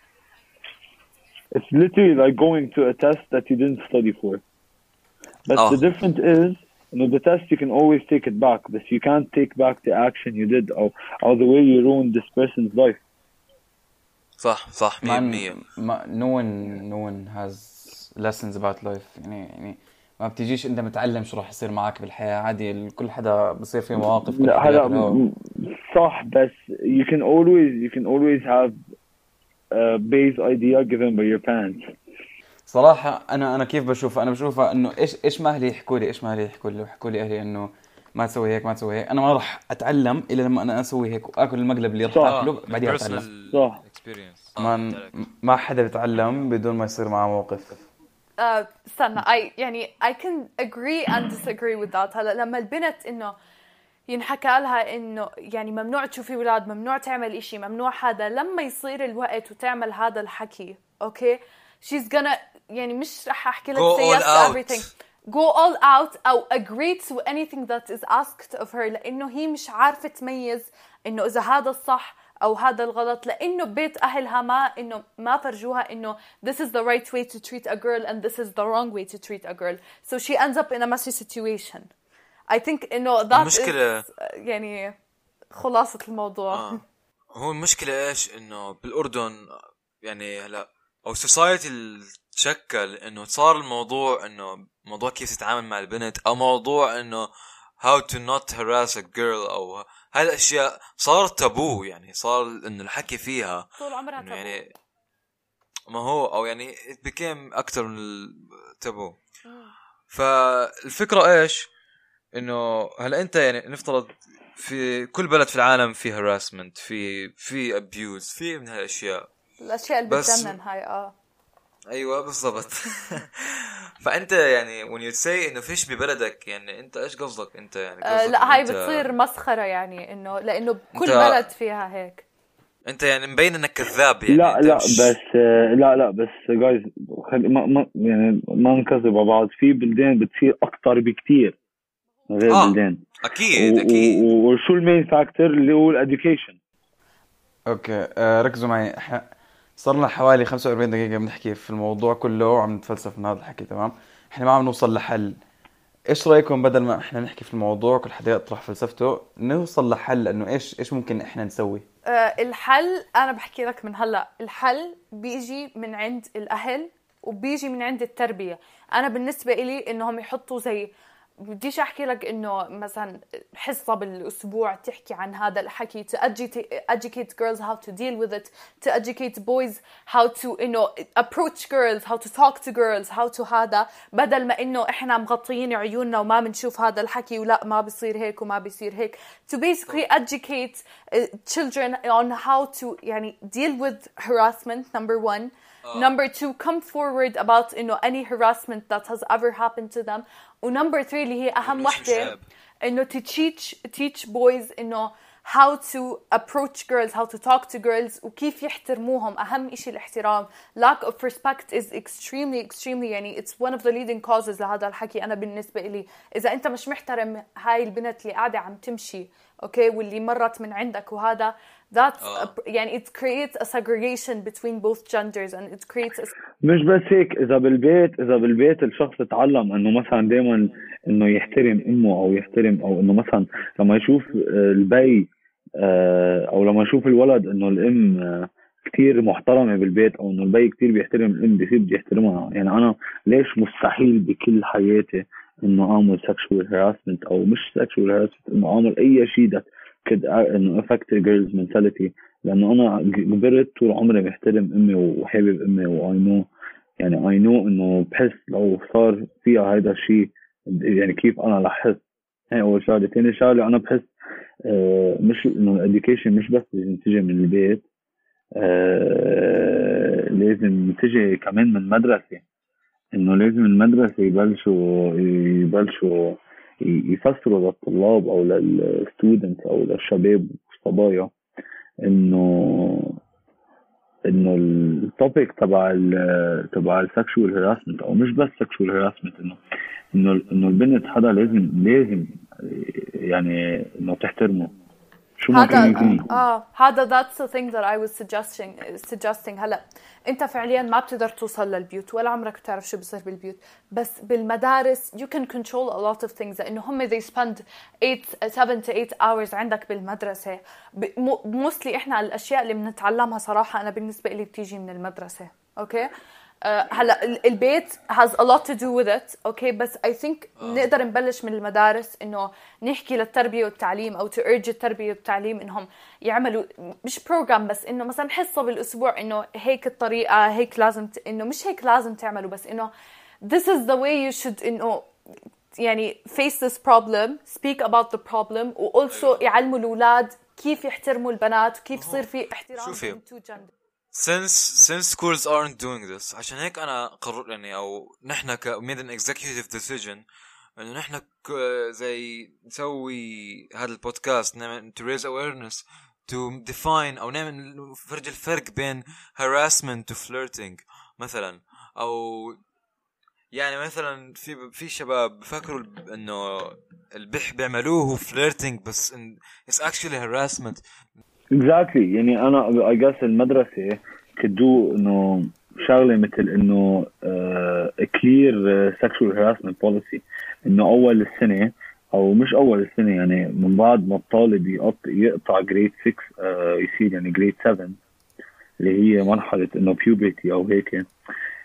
it's literally like going to a test that you didn't study for. But oh. the difference is you know the test you can always take it back, but you can't take back the action you did or or the way you ruined this person's life. صح صح مية بالمية. no one no one has lessons about life. يعني يعني ما بتجيش انت متعلم شو راح يصير معك بالحياة. عادي كل حدا بصير فيه مواقف. لا هلا صح بس you can always you can always have a base idea given by your parents. صراحة أنا أنا كيف بشوفها أنا بشوفها إنه إيش إيش ما أهلي يحكوا لي إيش ما أهلي يحكوا لي يحكوا لي أهلي إنه ما تسوي هيك ما تسوي هيك. أنا ما راح أتعلم إلا لما أنا أسوي هيك وأكل المقلب اللي راح أكله بعدين أتعلم. صح. ما ما حدا بيتعلم بدون ما يصير معه موقف. آه استنى I يعني I can agree and disagree with that. هلا لما البنت إنه ينحكى لها إنه يعني ممنوع تشوفي ولاد ممنوع تعمل إشي ممنوع هذا، لما يصير الوقت وتعمل هذا الحكي أوكي she's gonna يعني مش رح أحكي لك say yes to everything go all out أو agree to anything that is asked of her، لأنه هي مش عارفة تميز إنه إذا هذا الصح أو هذا الغلط، لأنه بيت أهلها ما إنه ما فرجوها إنه this is the right way to treat a girl and this is the wrong way to treat a girl, so she ends up in a messy situation. I think إنه that المشكلة is يعني خلاصة الموضوع. آه. هو المشكلة إيش إنه بالأردن يعني هلا أو society تشكل انه صار الموضوع انه موضوع كيف تتعامل مع البنت، او موضوع انه how to not harass a girl، او هاي الاشياء صار تابو، يعني صار انه الحكي فيها طول عمرها إنه تابو. يعني ما هو او يعني it became اكتر من التابو. فالفكرة ايش؟ انه هلا انت يعني نفترض في كل بلد في العالم في harassment، في في abuse، في من هالاشياء، الاشياء اللي بس- بتجنن هاي. اه ايوه بالضبط. فانت يعني when you say انه فيش ببلدك، يعني انت ايش قصدك انت؟ يعني آه، قصدك لا إنه هاي أنت- بتصير مسخرة يعني انه لانه بكل أنت- بلد فيها هيك. انت يعني مبين انك كذاب يعني. لا أنت لا مش... بس آه، لا لا بس جايز خلي ما ما يعني ما نكذب على بعض. في بلدان بتصير اكتر بكتير من غير آه. بلدان. اكيد و- اكيد. و- وشو المين فاكتور اللي هو الاديوكيشن. اوكي آه ركزوا معي. احنا صار لنا حوالي خمسة وأربعين دقيقة بنحكي في الموضوع كله وعم نتفلسف من هذا الحكي، تمام؟ احنا ما عم نوصل لحل. ايش رايكم بدل ما احنا نحكي في الموضوع كل حدا يطرح فلسفته نوصل لحل، انه ايش ايش ممكن احنا نسوي؟ آه، الحل انا بحكي لك من هلا، الحل بيجي من عند الاهل وبيجي من عند التربيه. انا بالنسبه إلي انهم يحطوا زي، بديش احكي لك انه مثلا حصه بالاسبوع تحكي عن هذا الحكي to educate, educate girls how to deal with it, to educate boys how to you know approach girls, how to talk to girls, how to هذا، بدل ما انه احنا مغطيين عيوننا وما بنشوف هذا الحكي ولا ما بيصير هيك وما بيصير هيك. to basically educate uh, children on how to يعني deal with harassment, number one. Number two, come forward about you know any harassment that has ever happened to them. ونمبر three اللي هي أهم مش وحدة، عيب. إنه to teach teach boys إنه how to approach girls, how to talk to girls وكيف يحترموهم. أهم إشي الاحترام. Lack of respect is extremely extremely يعني it's one of the leading causes لهذا الحكي. أنا بالنسبة إلي إذا أنت مش محترم هاي البنت اللي قاعدة عم تمشي أوكي واللي مرت من عندك وهذا that's a, يعني it creates a segregation between both genders and it creates a مش بس هيك، اذا بالبيت اذا بالبيت الشخص اتعلم انه مثلا دائما انه يحترم امه او يحترم، او انه مثلا لما يشوف آه، البي آه، او لما يشوف الولد انه الام آه، كتير محترمة بالبيت، او انه البي كتير بيحترم الام، بيصير بده يحترمها. يعني انا ليش مستحيل بكل حياتي انه اعمل sexual harassment او مش sexual harassment، انه اعمل اي شيء that could انه affect a girl's mentality، لانه انا كبرت طول عمري محترم امي وحابب امي واي نو يعني اي نو انه بحس لو صار فيها هيدا الشيء يعني كيف انا رح احس. هي اول شغله. ثاني شغله انا بحس آه مش انه الاديوكيشن مش بس لازم تجي من البيت، آه لازم تجي كمان من المدرسه. انه لازم المدرسه يبلشوا يبلشوا يفسروا للطلاب او للستودنت او للشباب والصبايا انه انه التوبيك تبع ال تبع السكشوال هراسمنت، او مش بس سكشوال هراسمنت، انه انه انه البنت حدا لازم لازم يعني انه تحترمه شو ما كان هذا يكون. اه هذا that's the thing that I was suggesting suggesting هلا انت فعليا ما بتقدر توصل للبيوت ولا عمرك بتعرف شو بصير بالبيوت، بس بالمدارس you can control a lot of things لانه هم they spend eight seven to eight hours عندك بالمدرسه. موستلي احنا الاشياء اللي بنتعلمها صراحه انا بالنسبه لي بتيجي من المدرسه. اوكي أه هلا البيت has a lot to do with it اوكي بس I think نقدر نبلش من المدارس انه نحكي للتربيه والتعليم او to urge التربيه والتعليم انهم يعملوا مش program بس انه مثلا حصه بالاسبوع انه هيك الطريقه هيك لازم ت... انه مش هيك لازم تعملوا بس انه this is the way you should انه يعني face this problem, speak about the problem و also يعلموا الاولاد كيف يحترموا البنات وكيف يصير في احترام بين two genders. since since schools aren't doing this عشان هيك انا قرر يعني او نحن ك made an executive decision انه نحن زي نسوي هذا البودكاست نعمل to raise awareness to define او نعمل فرج الفرق بين harassment و flirting مثلا. او يعني مثلا في في شباب بفكروا انه البح بيعملوه هو flirting بس it's actually harassment. exactly يعني انا I guess المدرسه كدو انه شغله مثل انه uh, a clear uh, sexual harassment policy، انه اول السنه او مش اول السنه يعني من بعد ما الطالب يقطع يقطع جريد ستة uh, يصير يعني جريد سبعة اللي هي مرحله انه puberty او هيك،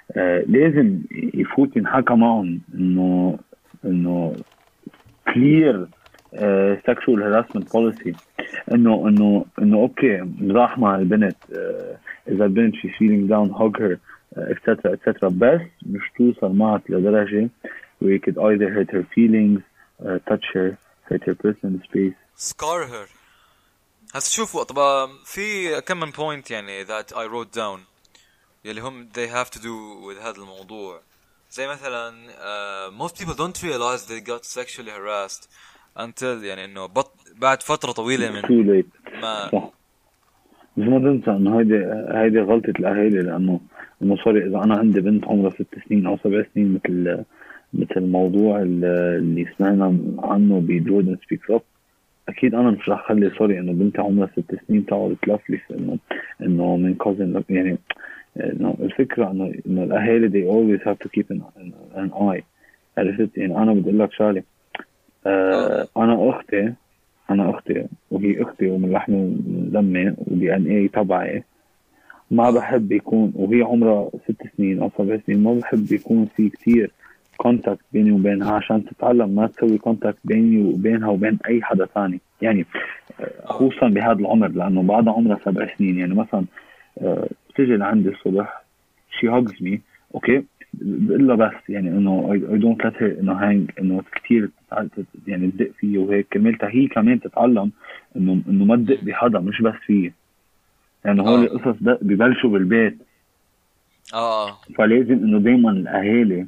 آه لازم يفوت ينحكى معهم انه انه clear uh, sexual harassment policy انه انه انه اوكي مزاح مع البنت uh, اذا البنت she's feeling down hug her uh, etc etc بس مش توصل معك لدرجة where you could either hurt her feelings uh, touch her hurt her personal space scar her. هسه شوفوا طبعا في كم من point يعني that I wrote down يلي هم they have to do with هذا الموضوع. زي مثلا uh, most people don't realize they got sexually harassed until يعني انه بط... بعد فترة طويلة من too late ما صح. بس ما تنسى انه هيدي هيدي غلطة الاهالي لانه انه سوري اذا انا عندي بنت عمرها ست سنين او سبع سنين مثل مثل الموضوع اللي سمعنا عنه بجوردن سبيكس اب اكيد انا مش رح خلي سوري انه بنتي عمرها ست سنين تقعد تلفلف انه انه من كوزن يعني انه الفكره انه انه الاهالي they always have to keep an, an eye. عرفت يعني انا بدي اقول لك شغله آه انا اختي انا اختي وهي اختي ومن لحمي ومن دمي ودي ان اي تبعي ما بحب يكون وهي عمرها ست سنين او سبع سنين ما بحب يكون في كتير كونتاكت بيني وبينها عشان تتعلم ما تسوي كونتاكت بيني وبينها وبين اي حدا ثاني يعني خصوصا بهذا العمر لانه بعدها عمرها سبع سنين يعني مثلا بتيجي لعندي الصبح she hugs me اوكي بقول لها بس يعني انه I, I don't let her انه hang انه كتير يعني تدق فيه وهيك كرمالتها هي كمان تتعلم انه انه ما تدق بحدا مش بس فيه يعني هول القصص ده ببلشوا بالبيت اه فلازم انه دايما الاهالي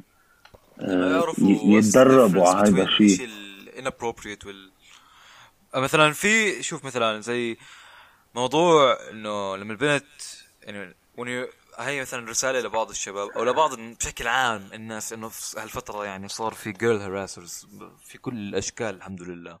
يتدربوا على هذا الشيء inappropriate وال مثلا في شوف مثلا زي موضوع انه لما البنت يعني وني هي مثلا رسالة لبعض الشباب او لبعض بشكل عام الناس انه في هالفترة يعني صار في girl harassers في كل الاشكال الحمد لله.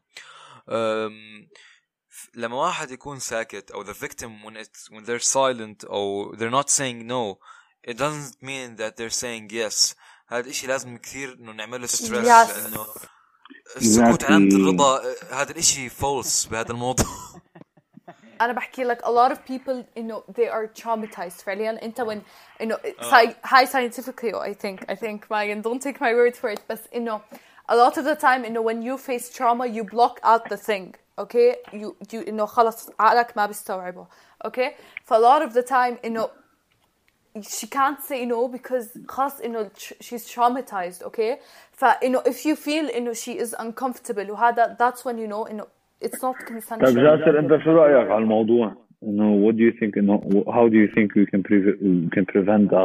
لما واحد يكون ساكت او the victim when it's when they're silent او they're not saying no it doesn't mean that they're saying yes. هذا الاشي لازم كثير انه نعمله ستريس Yes. لانه السكوت علامة الرضا هذا الاشي فولس بهذا الموضوع. أنا بحكي لك a lot of people إنه they are traumatized فعليا أنت when إنه high scientifically I think I think Megan don't take my word for it بس إنه a lot of the time إنه when you face trauma you block out the thing okay you you إنه خلص عقلك ما بيستوعبه okay for a lot of the time إنه she can't say no because خلاص إنه she's traumatized okay فإنه if you feel إنه she is uncomfortable وهذا that's when you know إنه it's not consensual. طيب جاسر أنت شو رأيك على الموضوع؟ إنه what do you think إنه how do you think we can prevent we can prevent that؟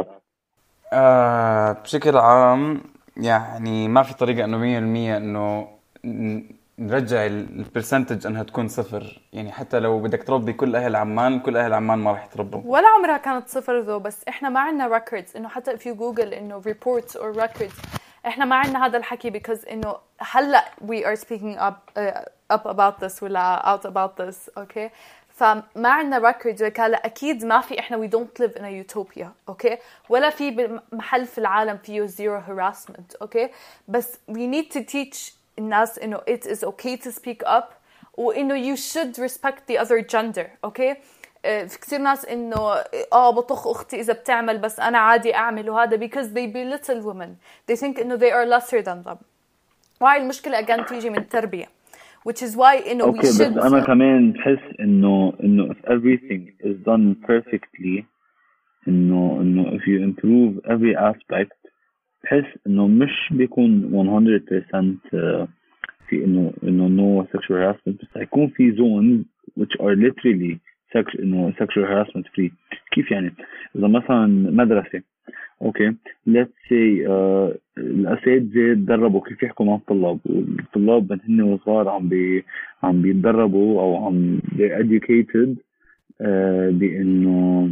آه بشكل عام يعني ما في طريقة إنه مية بالمية إنه نرجع البرسنتج انها تكون صفر يعني حتى لو بدك تربي كل اهل عمان كل اهل عمان ما راح يتربوا ولا عمرها كانت صفر ذو بس احنا ما عندنا ريكوردز انه حتى if you google انه reports or records احنا ما عندنا هذا الحكي because انه هلا we are speaking up uh, up about this ولا out about this okay فما عندنا records وكاله اكيد ما في احنا we don't live in a utopia okay ولا في محل في العالم فيه zero harassment okay بس we need to teach الناس إنه it is okay to speak up وإنه you should respect the other gender okay في كثير ناس إنه آه بطخ أختي إذا بتعمل بس أنا عادي أعمل وهذا because they belittle women they think إنه they are lesser than them وهاي المشكلة again تيجي من التربية which is why إنه okay, we should بس أنا كمان بحس إنه إنه if everything is done perfectly إنه إنه if you improve every aspect بحس إنه مش بيكون one hundred percent في إنه إنه no sexual harassment بس هيكون في zones which are literally sex إنه sexual harassment free. كيف يعني؟ إذا مثلا مدرسة أوكي let's say uh, الأساتذة دربوا كيف يحكوا مع الطلاب والطلاب هن وصغار عم بي عم بيتدربوا أو عم they're educated uh, بإنه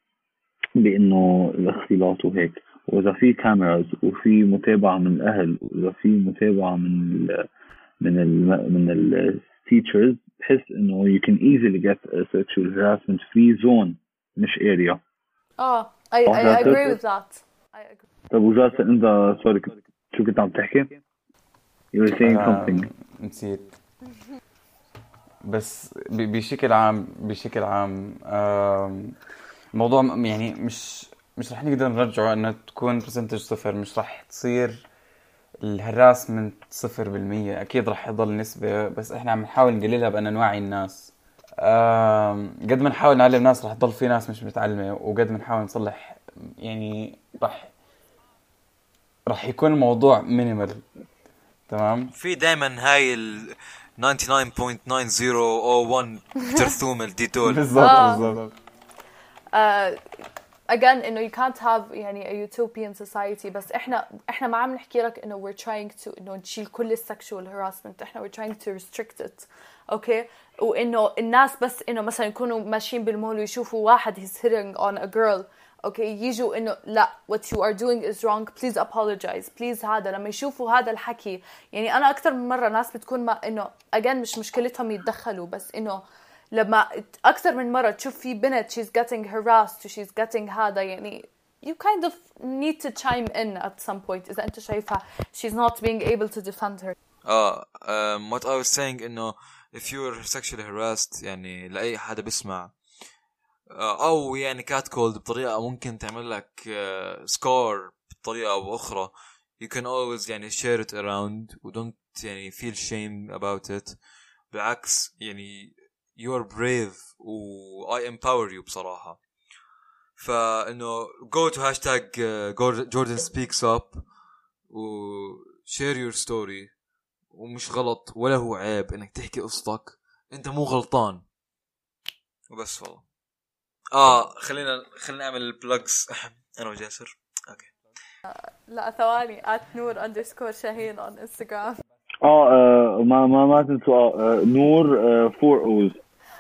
بإنه الاختلاط وهيك وإذا في كاميراز وفي متابعة من الأهل وإذا في متابعة من ال من ال من ال teachers بحس إنه you can easily get a sexual harassment free zone مش area. آه I I agree with that. I agree. طب وجاسر أنت سوري شو كنت عم تحكي؟ You were saying something. نسيت. بس بشكل عام بشكل عام الموضوع يعني مش مش رح نقدر نرجعه انه تكون برسنتج صفر. مش رح تصير الهراسمنت صفر بالمية. اكيد رح يضل نسبة، بس احنا عم نحاول نقللها بان نوعي الناس. آم، قد ما نحاول نعلم ناس رح تضل في ناس مش متعلمة، وقد ما نحاول نصلح يعني رح رح يكون الموضوع مينيمال. تمام. في دائما هاي ال تسعة وتسعين فاصلة تسعين صفر واحد ترثوم الديتول. بالضبط آه. بالضبط. uh, again انه you can't have يعني a utopian society. بس احنا احنا ما عم نحكي لك انه we're trying to انه نشيل كل السكشوال harassment. احنا we're trying to restrict it. اوكي. وانه الناس بس انه مثلا يكونوا ماشيين بالمول ويشوفوا واحد he's hitting on a girl، اوكي، يجوا انه لا what you are doing is wrong please apologize please. هذا لما يشوفوا هذا الحكي، يعني انا اكثر من مره ناس بتكون ما انه again مش مشكلتهم يتدخلوا، بس انه لما أكثر من مرة تشوف في بنت she's getting harassed و she's getting هذا، يعني you kind of need to chime in at some point إذا أنت شايفها she's not being able to defend her. اه um, what I was saying إنه if you're sexually harassed يعني لأي حدا بيسمع uh, أو يعني catcalled بطريقة ممكن تعمل لك uh, scar بطريقة أو أخرى، you can always يعني share it around و don't يعني feel shame about it. بالعكس يعني you're brave و I empower you بصراحة. فإنه go to hashtag uh, Jordan speaks up و share your story. ومش غلط ولا هو عيب إنك تحكي قصتك، أنت مو غلطان وبس. والله آه خلينا خلينا نعمل plugs أنا وجاسر. أوكي. لا ثواني at نور underscore شاهين on Instagram. اه آه، ما ما ما تنسوا آه، نور آه، فور اوز.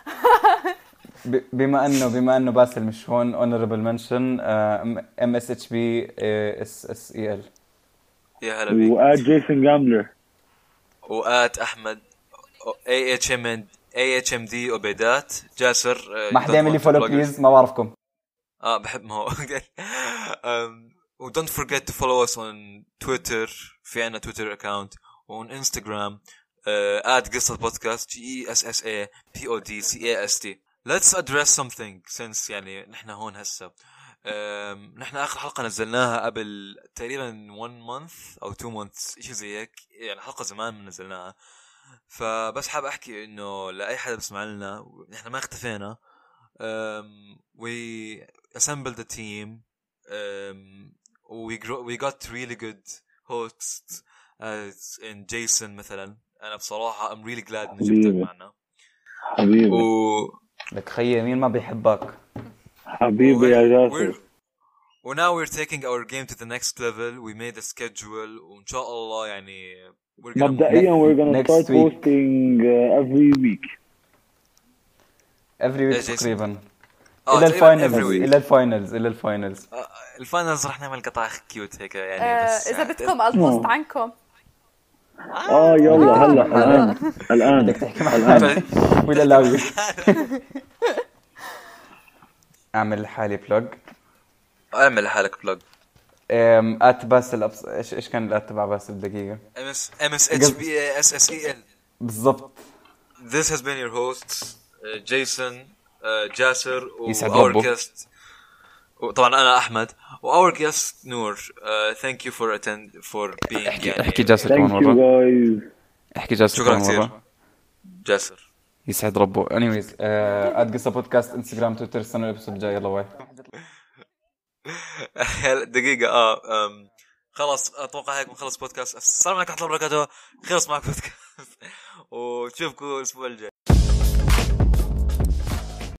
ب- بما انه بما انه باسل مش هون honorable mention ام اس اتش بي اس اس اي ال. يا هلا بيك. وآت جيسون جاملر. وآت أحمد اي اتش ام اي اتش ام دي عبيدات. جاسر uh, ما حدا يعمل لي فولو بليز، ما بعرفكم. اه بحب ما هو um, و don't forget to follow us on Twitter. في عنا Twitter account on Instagram uh, at قصة بودكاست G E S S A P O D C A S T. Let's address something since يعني نحن هون هسه. um, نحن آخر حلقة نزلناها قبل تقريبا one month أو two months إشي زي هيك، يعني حلقة زمان من نزلناها. فبس حاب أحكي إنه لأي حدا بسمع لنا نحن ما اختفينا. um, we assembled a team um, we grow, we got really good hosts as in Jason مثلا. أنا بصراحة I'm really glad إنه جبتك معنا حبيبي. و لك خيي مين ما بيحبك حبيبي يا جاسر. و now we're taking our game to the next level. We made a schedule وإن شاء الله يعني we're gonna مبدئيا we're gonna Next start week. posting uh, every week. every week إيه جيسون؟ تقريبا آه الى تقريباً الفاينلز every week. الى الفاينلز الى الفاينلز آه، الفاينلز رح نعمل قطع كيوت هيك يعني آه، بس إذا بدكم البوست عنكم. اه يلا هلا الان الان بدك تحكي مع حالك ولا لاوي؟ اعمل حالي بلوج. اعمل حالك بلوج. ام ات باسل أبس... ايش ايش كان الات تبع باسل دقيقه؟ ام اس ام اس اتش بي اس اس اي ال. بالضبط. This has been your hosts uh, Jason uh, جاسر و يسعد our ربه. guest وطبعا انا احمد و our guest نور. uh, thank you for attend for being احكي يعني احكي جاسر كمان thank you مره. guys. احكي جاسر شكرا كمان كثير مره. جاسر. يسعد ربه. anyways ات قصه بودكاست انستغرام تويتر. استنوا الابسود الجاي. يلا باي. دقيقة اه um, خلاص اتوقع هيك بنخلص بودكاست. السلام عليكم ورحمة الله وبركاته. خلص معك بودكاست وتشوفكم الاسبوع الجاي.